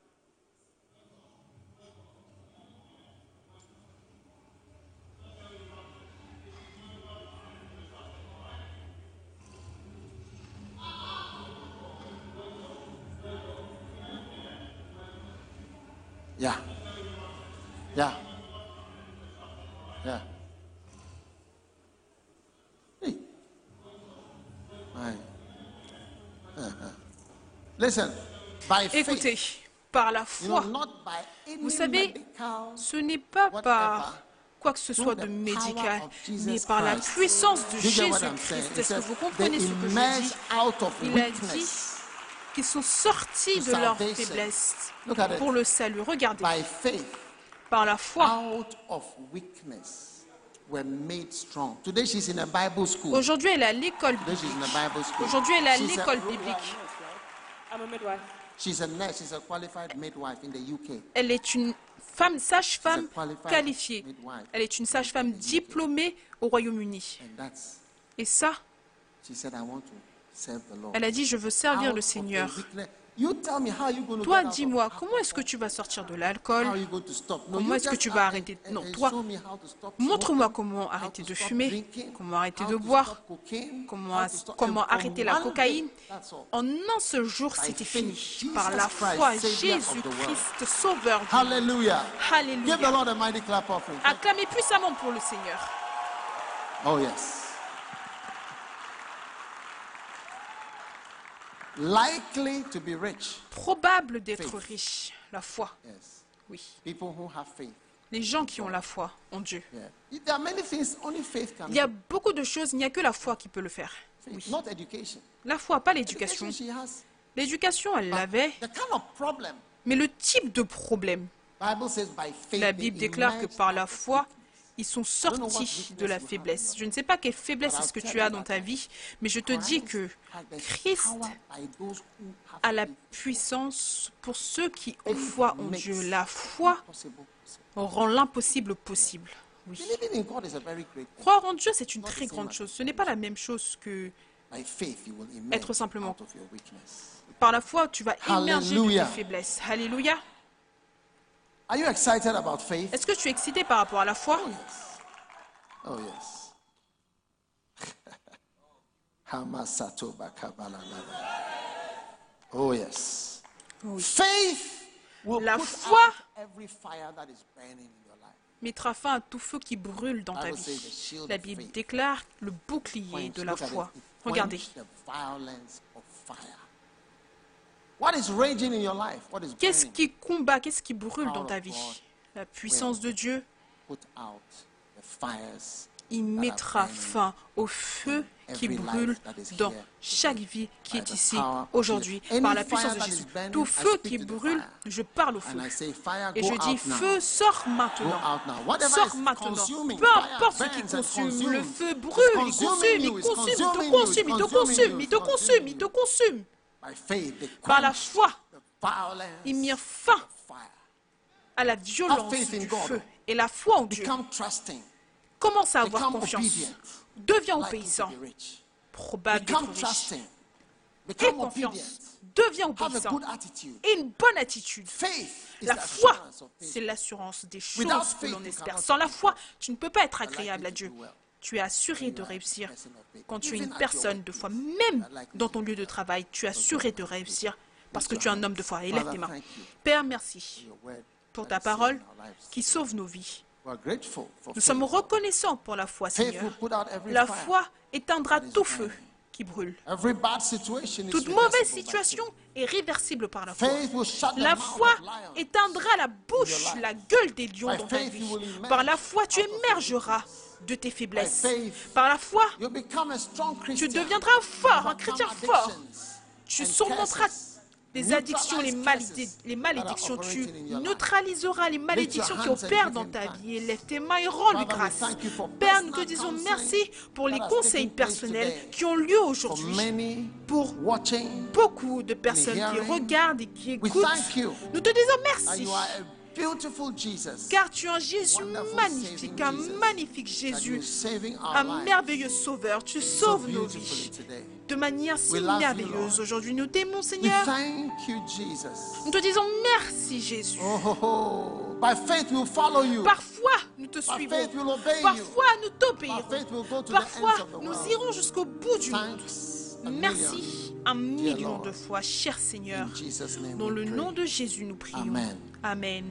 Yeah. Yeah. Yeah. Hey. Aye. Uh-huh. Listen, by Écoutez, faith, par la you foi, know, not by any vous savez, medical, ce n'est pas whatever, par quoi que ce soit de médical, mais par la puissance de You get what I'm saying? Jésus-Christ. It Est-ce que says vous they comprenez ce que je emerge dis? out of Il a dit weakness qu'ils sont sortis to de leur salvation. faiblesse Look at it. pour le salut. Regardez, by faith, par la foi. out of weakness were made strong. Today she's in a Bible school. Aujourd'hui, elle est à l'école Today she's in biblique. a Bible school. Aujourd'hui, elle est à She's a- l'école biblique. I'm a midwife. She's a nurse. She's a qualified midwife in the U K. Elle est une femme sage-femme She's a qualified qualifiée. midwife. Elle est une sage-femme diplômée au Royaume-Uni. And that's, Et ça, she said, I want to serve the Lord. elle a dit, je veux servir Out le of the Seigneur. weakness- You tell me how you going to Toi, get out of dis-moi, alcohol? comment est-ce que tu vas sortir de l'alcool? How are you going to stop? No, Comment you est-ce que just tu vas uh, arrêter? and- Non, and toi, show me how to stop montre-moi smoking, comment how arrêter to de stop fumer, drinking, comment arrêter how de to boire, stop cocaine, comment, how to stop- comment and from arrêter la one cocaïne. day, that's all. En un seul jour, c'était faith, fini. Par la Jesus Christ, foi, Savior of the world. Jésus-Christ, Sauveur du monde. Hallelujah. Give the Alléluia. Lord a mighty clap offering. Acclamez puissamment pour le Seigneur. Oh, yes. Likely to be rich. Probable d'être Faith. riche. La foi, Yes. oui. People who have faith. Les gens qui ont la foi en Dieu. Yeah. There are many things only faith can Il y a do. beaucoup de choses, il n'y a que la foi qui peut le faire. Faith, Oui. not education. La foi, pas l'éducation. Education she has. L'éducation, elle l'avait, The kind of problem. mais le type de problème. Bible says by faith. La they Bible déclare que emerged par out la of foi, weakness. ils sont sortis de la faiblesse. Je ne sais pas quelle faiblesse est-ce que tu as dans ta vie, mais je te dis que Christ a la puissance pour ceux qui ont foi en Dieu. La foi rend l'impossible possible. Oui. Believing in God is a very great thing. Croire en Dieu, c'est une très grande chose. Ce n'est pas la même chose que By faith, you will emerge être simplement. out of your weakness. Par la foi, tu vas émerger de tes Hallelujah. faiblesses. Alléluia. Are you excited about faith? Est-ce que tu es excité par rapport à la foi? Oh yes. Hamasato bakabalanaba. Oh yes. Oui. Faith will La put foi out every fire that is burning in your life. Mettra fin à tout feu qui brûle dans ta Bible says the vie. shield La of Bible faith. déclare le bouclier de la Look at foi. it. It Regardez. quench the violence of fire. What is raging in your life? What is Qu'est-ce burning? qui combat, qu'est-ce qui brûle dans ta vie? La puissance de Dieu. Put out the fires. Il mettra fin au feu qui brûle dans chaque vie qui est ici aujourd'hui par la puissance de Jésus. Tout feu qui brûle, je parle au feu. And I say, fire, Et go je dis, out now. feu, sors Go maintenant. out now. Whatever Sors is maintenant. consuming, Peu fire importe ce qui burns and consume, consumes. le feu It's brûle, il consuming consume, il you, it's consume, il te consuming you, consume, il te it's consuming consume, you, il te it's consume, il te consuming consume. By faith, they Par la quench foi, the violence il mit fin of fire. à la violence faith in du God. feu et la foi en Dieu. Become trusting. Commence à avoir Become confiance. obedient. Deviens Likely obéissant. to be rich. Probable Become d'être riche. trusting. Aie Become obedient. confiance. Deviens Have a obéissant. good attitude. Et une bonne attitude. Faith is La the foi, assurance of c'est things. l'assurance des choses Without que faith, l'on you espère. cannot Sans la please foi, God. tu ne peux pas être But likely agréable à to Dieu. do well. Tu es assuré You de are a réussir. person of faith. Quand tu es Even une at your personne de workplace, foi, you même are likely dans to ton do lieu de well. travail, tu es assuré de réussir parce que Lift tu es your un homme de hands. foi. Élève tes Father, mains. thank you Père, merci for your word pour that ta is saving parole our lives. qui sauve nos vies. We are grateful for Nous faith. sommes reconnaissants pour la foi, Faith Seigneur. will put out every La fire. foi éteindra tout feu qui brûle. Every bad situation is Toute reversible mauvaise by situation faith. est réversible par la foi. Faith will shut the La mouth foi of lions. éteindra la bouche, la gueule des lions By dans ta faith, vie. you will emerge Par la foi, tu out of émergeras de tes faiblesses. By faith, Par la foi, You'll become a strong tu Christian. deviendras fort, un Overcome chrétien fort. addictions Tu and surmonteras curses. les addictions, les, Neutralize maladi- curses les that malédictions. are Tu operating in your life. neutraliseras les malédictions qui hands and opèrent give dans him ta thanks. vie. Élève tes mains et rends-lui Father, we grâce. thank you for Père, nous te personal disons counseling merci pour les that has conseils taken place personnels today. qui ont lieu For aujourd'hui. many Pour watching, beaucoup de personnes qui hearing, regardent et qui we écoutent, thank you nous te disons that merci. you are a beautiful Jesus. Car tu es un Jésus Wonderful magnifique, saving un Jesus. magnifique That you Jésus, are saving our un lives merveilleux sauveur. Tu so sauves nos beautifully vies today. de manière si We love you, merveilleuse. Lord. Aujourd'hui, nous t'aimons, We Seigneur. thank you, Jesus. Nous te disons merci, Jésus. Oh, oh, oh. By faith we'll follow you. Parfois, nous te By suivrons. faith we'll obey you. Parfois, nous By t'obéirons. faith we'll go to the Parfois, ends of the nous world. irons jusqu'au bout du monde. Thanks a million. Merci un million Lord. de fois, cher Seigneur. In Jesus' name Dans we le pray. nom de Jésus, nous prions. Amen. Amen.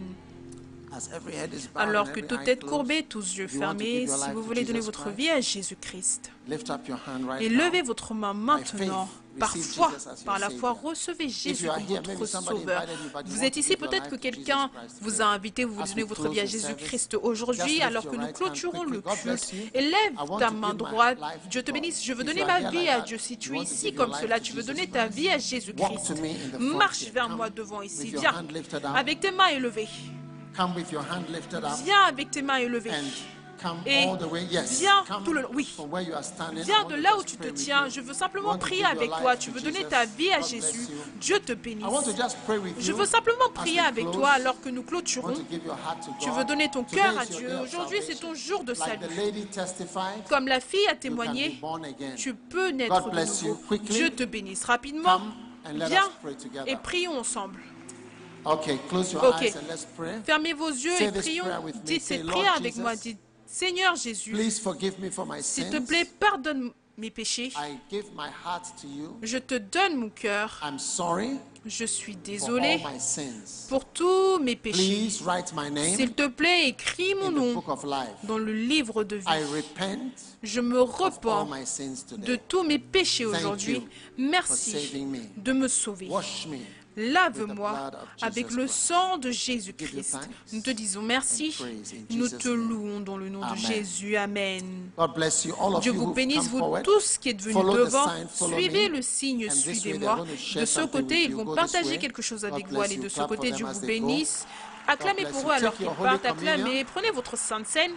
As every head is bowed Alors and que every toute eye tête closed, courbée, tous yeux if you want to give fermés, your si life vous to voulez donner Jesus votre Christ, vie à Jésus-Christ, lift up your hand right et now. levez votre main maintenant. faith, Par receive foi, Jesus as your par la foi, Savior. recevez If Jésus you are comme here, maybe votre somebody sauveur. invited you, but you Vous want êtes to ici, give your peut-être life que to quelqu'un Jesus Christ vous today. a invité, vous voulez As donner we votre close vie à the service, Jésus-Christ just aujourd'hui, lift alors your que nous right hand clôturons quickly. le God bless culte. you. Élève I want ta to main give my droite. life to Dieu te God. bénisse. Je veux If donner you are ma here vie like à that, Dieu. Si you tu es want to ici give your comme life cela, to tu veux Jesus donner ta Christ, vie à walk Jésus-Christ. to me in the front Marche here. vers Come moi devant ici. with your Viens hand lifted up. avec tes mains élevées. Come with your hand lifted up. Viens avec tes mains élevées. And come Et all the way. Yes. viens Come tout le oui. from where you are standing. I Viens want de to là où just tu te pray with tiens. you. Je veux You simplement want to prier give your avec life toi. to Tu veux Jesus. donner ta vie à God bless Jésus. you. Dieu te I bénisse. want to just pray with Je you veux simplement as prier we avec close. toi alors que nous You clôturons. want to give your heart to Tu God. veux donner ton Today cœur à is your Dieu. day of Aujourd'hui, c'est salvation. ton jour de Like the salut. lady testified, Comme la fille a you can témoigné, be born again. tu peux naître God de bless you. nouveau. Quickly, Dieu te bénisse. Rapidement, come and let viens us pray together. et prions ensemble. Okay, close your Ok. eyes and let's pray. Fermez vos yeux Say et this prions. prayer with me. Dites Say, cette Lord prière avec Jesus, moi. Dites, Seigneur Jésus, Please forgive me for my s'il te sins. plaît, pardonne mes péchés. I give my heart to you. Je te donne mon cœur. I'm sorry Je suis for désolé all my sins. pour tous mes péchés. Please write my name S'il te plaît, écris mon in the nom book of life. dans le livre de I vie. repent Je me of all repens my sins de today. tous mes péchés Thank aujourd'hui. you for Merci saving me. de me sauver. Wash me. Lave-moi avec le sang de Jésus-Christ. thanks Nous te disons merci. and praise in Nous Jesus' te name. louons dans le nom Amen. de Jésus. Amen. God bless you. All of Dieu you vous who've bénisse, come vous forward. tous qui êtes venus Follow the devant. sign, follow Suivez me. le signe, And this way they're suivez-moi. going to share De ce something côté, with ils you. vont Go this partager way. quelque chose God avec vous. bless Allez you. de ce Clap for côté, them Dieu as vous they go. bénisse. Acclamez bless pour you. eux alors Take qu'ils your Holy partent. Communion. Acclamez. Prenez votre Sainte Seine.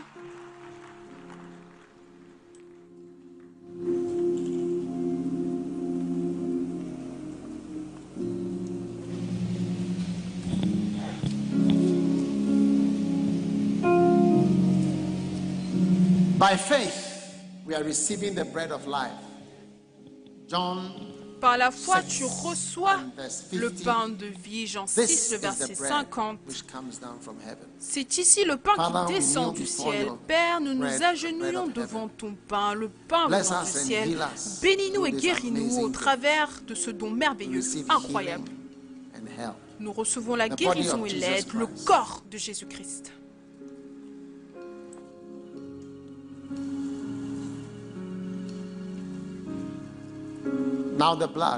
By faith, we are receiving the bread of life. John John Par la foi, six tu reçois and verse le fifty. pain de vie. Jean This six, le is verset the bread cinquante. which comes down from heaven. C'est ici le pain Father, qui we descend kneel du before ciel. your Père, nous bread, nous the bread agenouillons of devant heaven. ton pain, le pain Bless venant du us and ciel. heal us Bénis-nous through et this guéris-nous au amazing travers de ce don We merveilleux, receive incroyable. healing and help. Nous recevons la The body guérison of et Jesus l'aide, le Christ. corps de Jésus-Christ. Now the blood.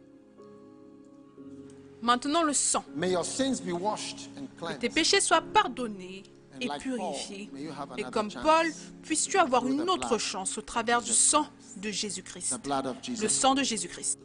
Maintenant le sang. May your sins be washed and Que tes cleansed. péchés soient pardonnés et And like purifiés. Paul, may you have Et another comme chance Paul, puisses-tu avoir through une the autre blood chance au travers du Jesus sang de Jésus-Christ. The blood of Le Jesus. sang de Jésus-Christ.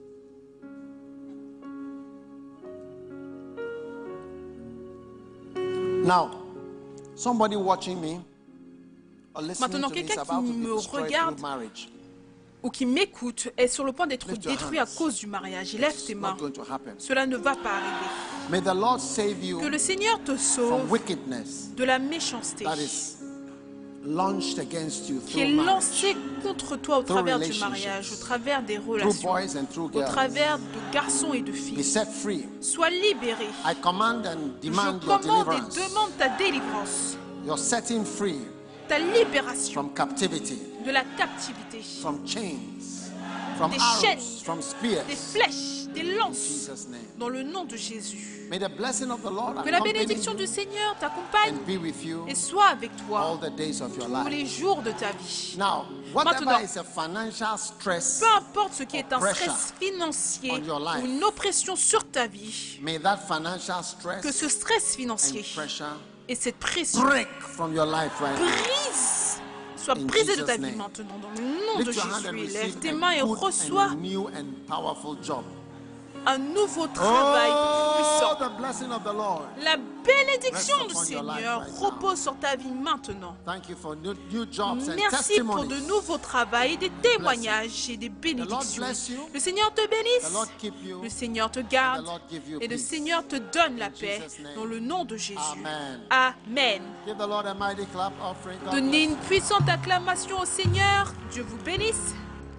Now, somebody watching me or listening Maintenant, to me is quelqu'un qui about to be me destroyed regarde through marriage. Ou qui m'écoute est sur le point d'être Lift your détruit à hands. cause du mariage. Lève It's tes not mains. going to happen. Cela ne va pas arriver. May the Lord save you Que le Seigneur te from sauve wickedness de la méchanceté that is launched against you qui est through marriage, lancée contre toi au travers du mariage, au travers des through relations, boys and through au girls. travers de garçons et de Be filles. set free. Sois libéré. I command and Je demand your commande et deliverance, demande ta délivrance, your setting free ta libération from captivity, de la captivité, from chains, from Des arrows, chaînes, from des spears. flèches, des In lances, Jesus' name. dans le nom de Jésus. May the blessing of the Lord Que la accompany bénédiction you du Seigneur t'accompagne and be with you et soit avec all toi the days of your tous les life. jours de ta vie. Now, whatever Maintenant, is a financial stress, peu importe ce qui est un pressure stress financier on your life, ou une oppression sur ta vie, may that financial que ce stress stress financier and pressure et cette pression break from your life right now. brise, soit In brisée de ta Jesus' vie name. maintenant dans le nom de Lift your hand and Jésus. Et receive lève tes a mains et good reçois and new and powerful job. un nouveau travail Oh, puissant. the blessing of the Lord. La bénédiction Rest du upon your life Seigneur right now. repose sur ta vie maintenant. Thank you for new, new jobs and Merci pour de testimonies. nouveaux travaux et des témoignages et des bénédictions. bless you. Le Seigneur te The bénisse. Lord keep you. Le Seigneur te And garde. the Lord give you Et le peace. Seigneur te donne la In paix Jesus' name. dans le nom de Jésus. Amen. Amen. Give the Lord a mighty clap offering. God Donnez bless une puissante acclamation au Seigneur. Dieu vous bénisse.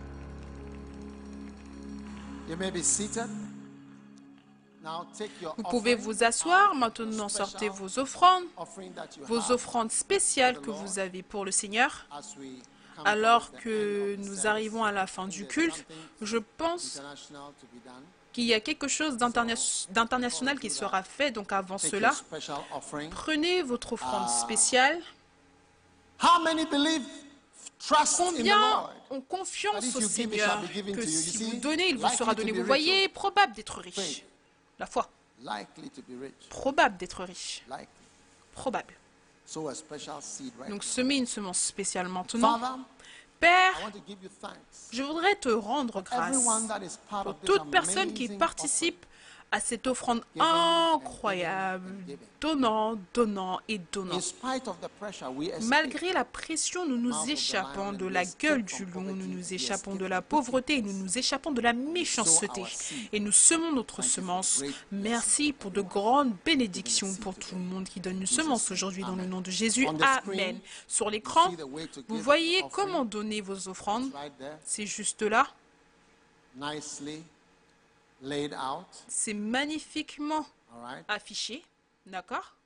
you. You may be seated. Now take your Vous pouvez offering, vous asseoir. uh, Maintenant, special sortez vos offrandes. offering that you Vos have offrandes spéciales que vous avez pour le Seigneur. as we come Alors towards the que end of the nous service. arrivons à la fin du There's culte, something je pense international to be done. qu'il y a quelque chose d'interna- d'international qui sera fait. Donc avant Take cela, your special offering. prenez votre offrande Ah. spéciale. How many believe, trust in the Combien Lord? ont confiance That if au you give, it Seigneur shall be given que to you. You si see, vous donnez, il vous likely sera to donné. be Vous rich, voyez, probable d'être riche. Faith. La foi, Likely to be rich. probable d'être riche. Likely. Probable. So a special seed right Donc now. semez une semence spéciale maintenant. Father, Père, I want to give you thanks. je voudrais te rendre grâce Everyone that is part pour of this toute personne qui amazing participe à cette offrande Giving and incroyable, giving and giving. donnant, donnant et offering. donnant. In spite of the pressure, we escape. Malgré la pression, nous Mouth nous of the échappons lion de and la we gueule escape du from loup, nous poverty, nous we échappons escape de la from pauvreté, nous wickedness. nous échappons de la méchanceté our seed. et nous semons notre Thank you for semence. great Merci pour de grandes bénédictions pour tout le monde qui donne une semence aujourd'hui dans le nom de Jésus. On the Amen. screen, Sur l'écran, see the way to vous give voyez offering. comment donner vos offrandes. Right there, C'est juste là. nicely laid out. C'est magnifiquement All right. affiché. D'accord?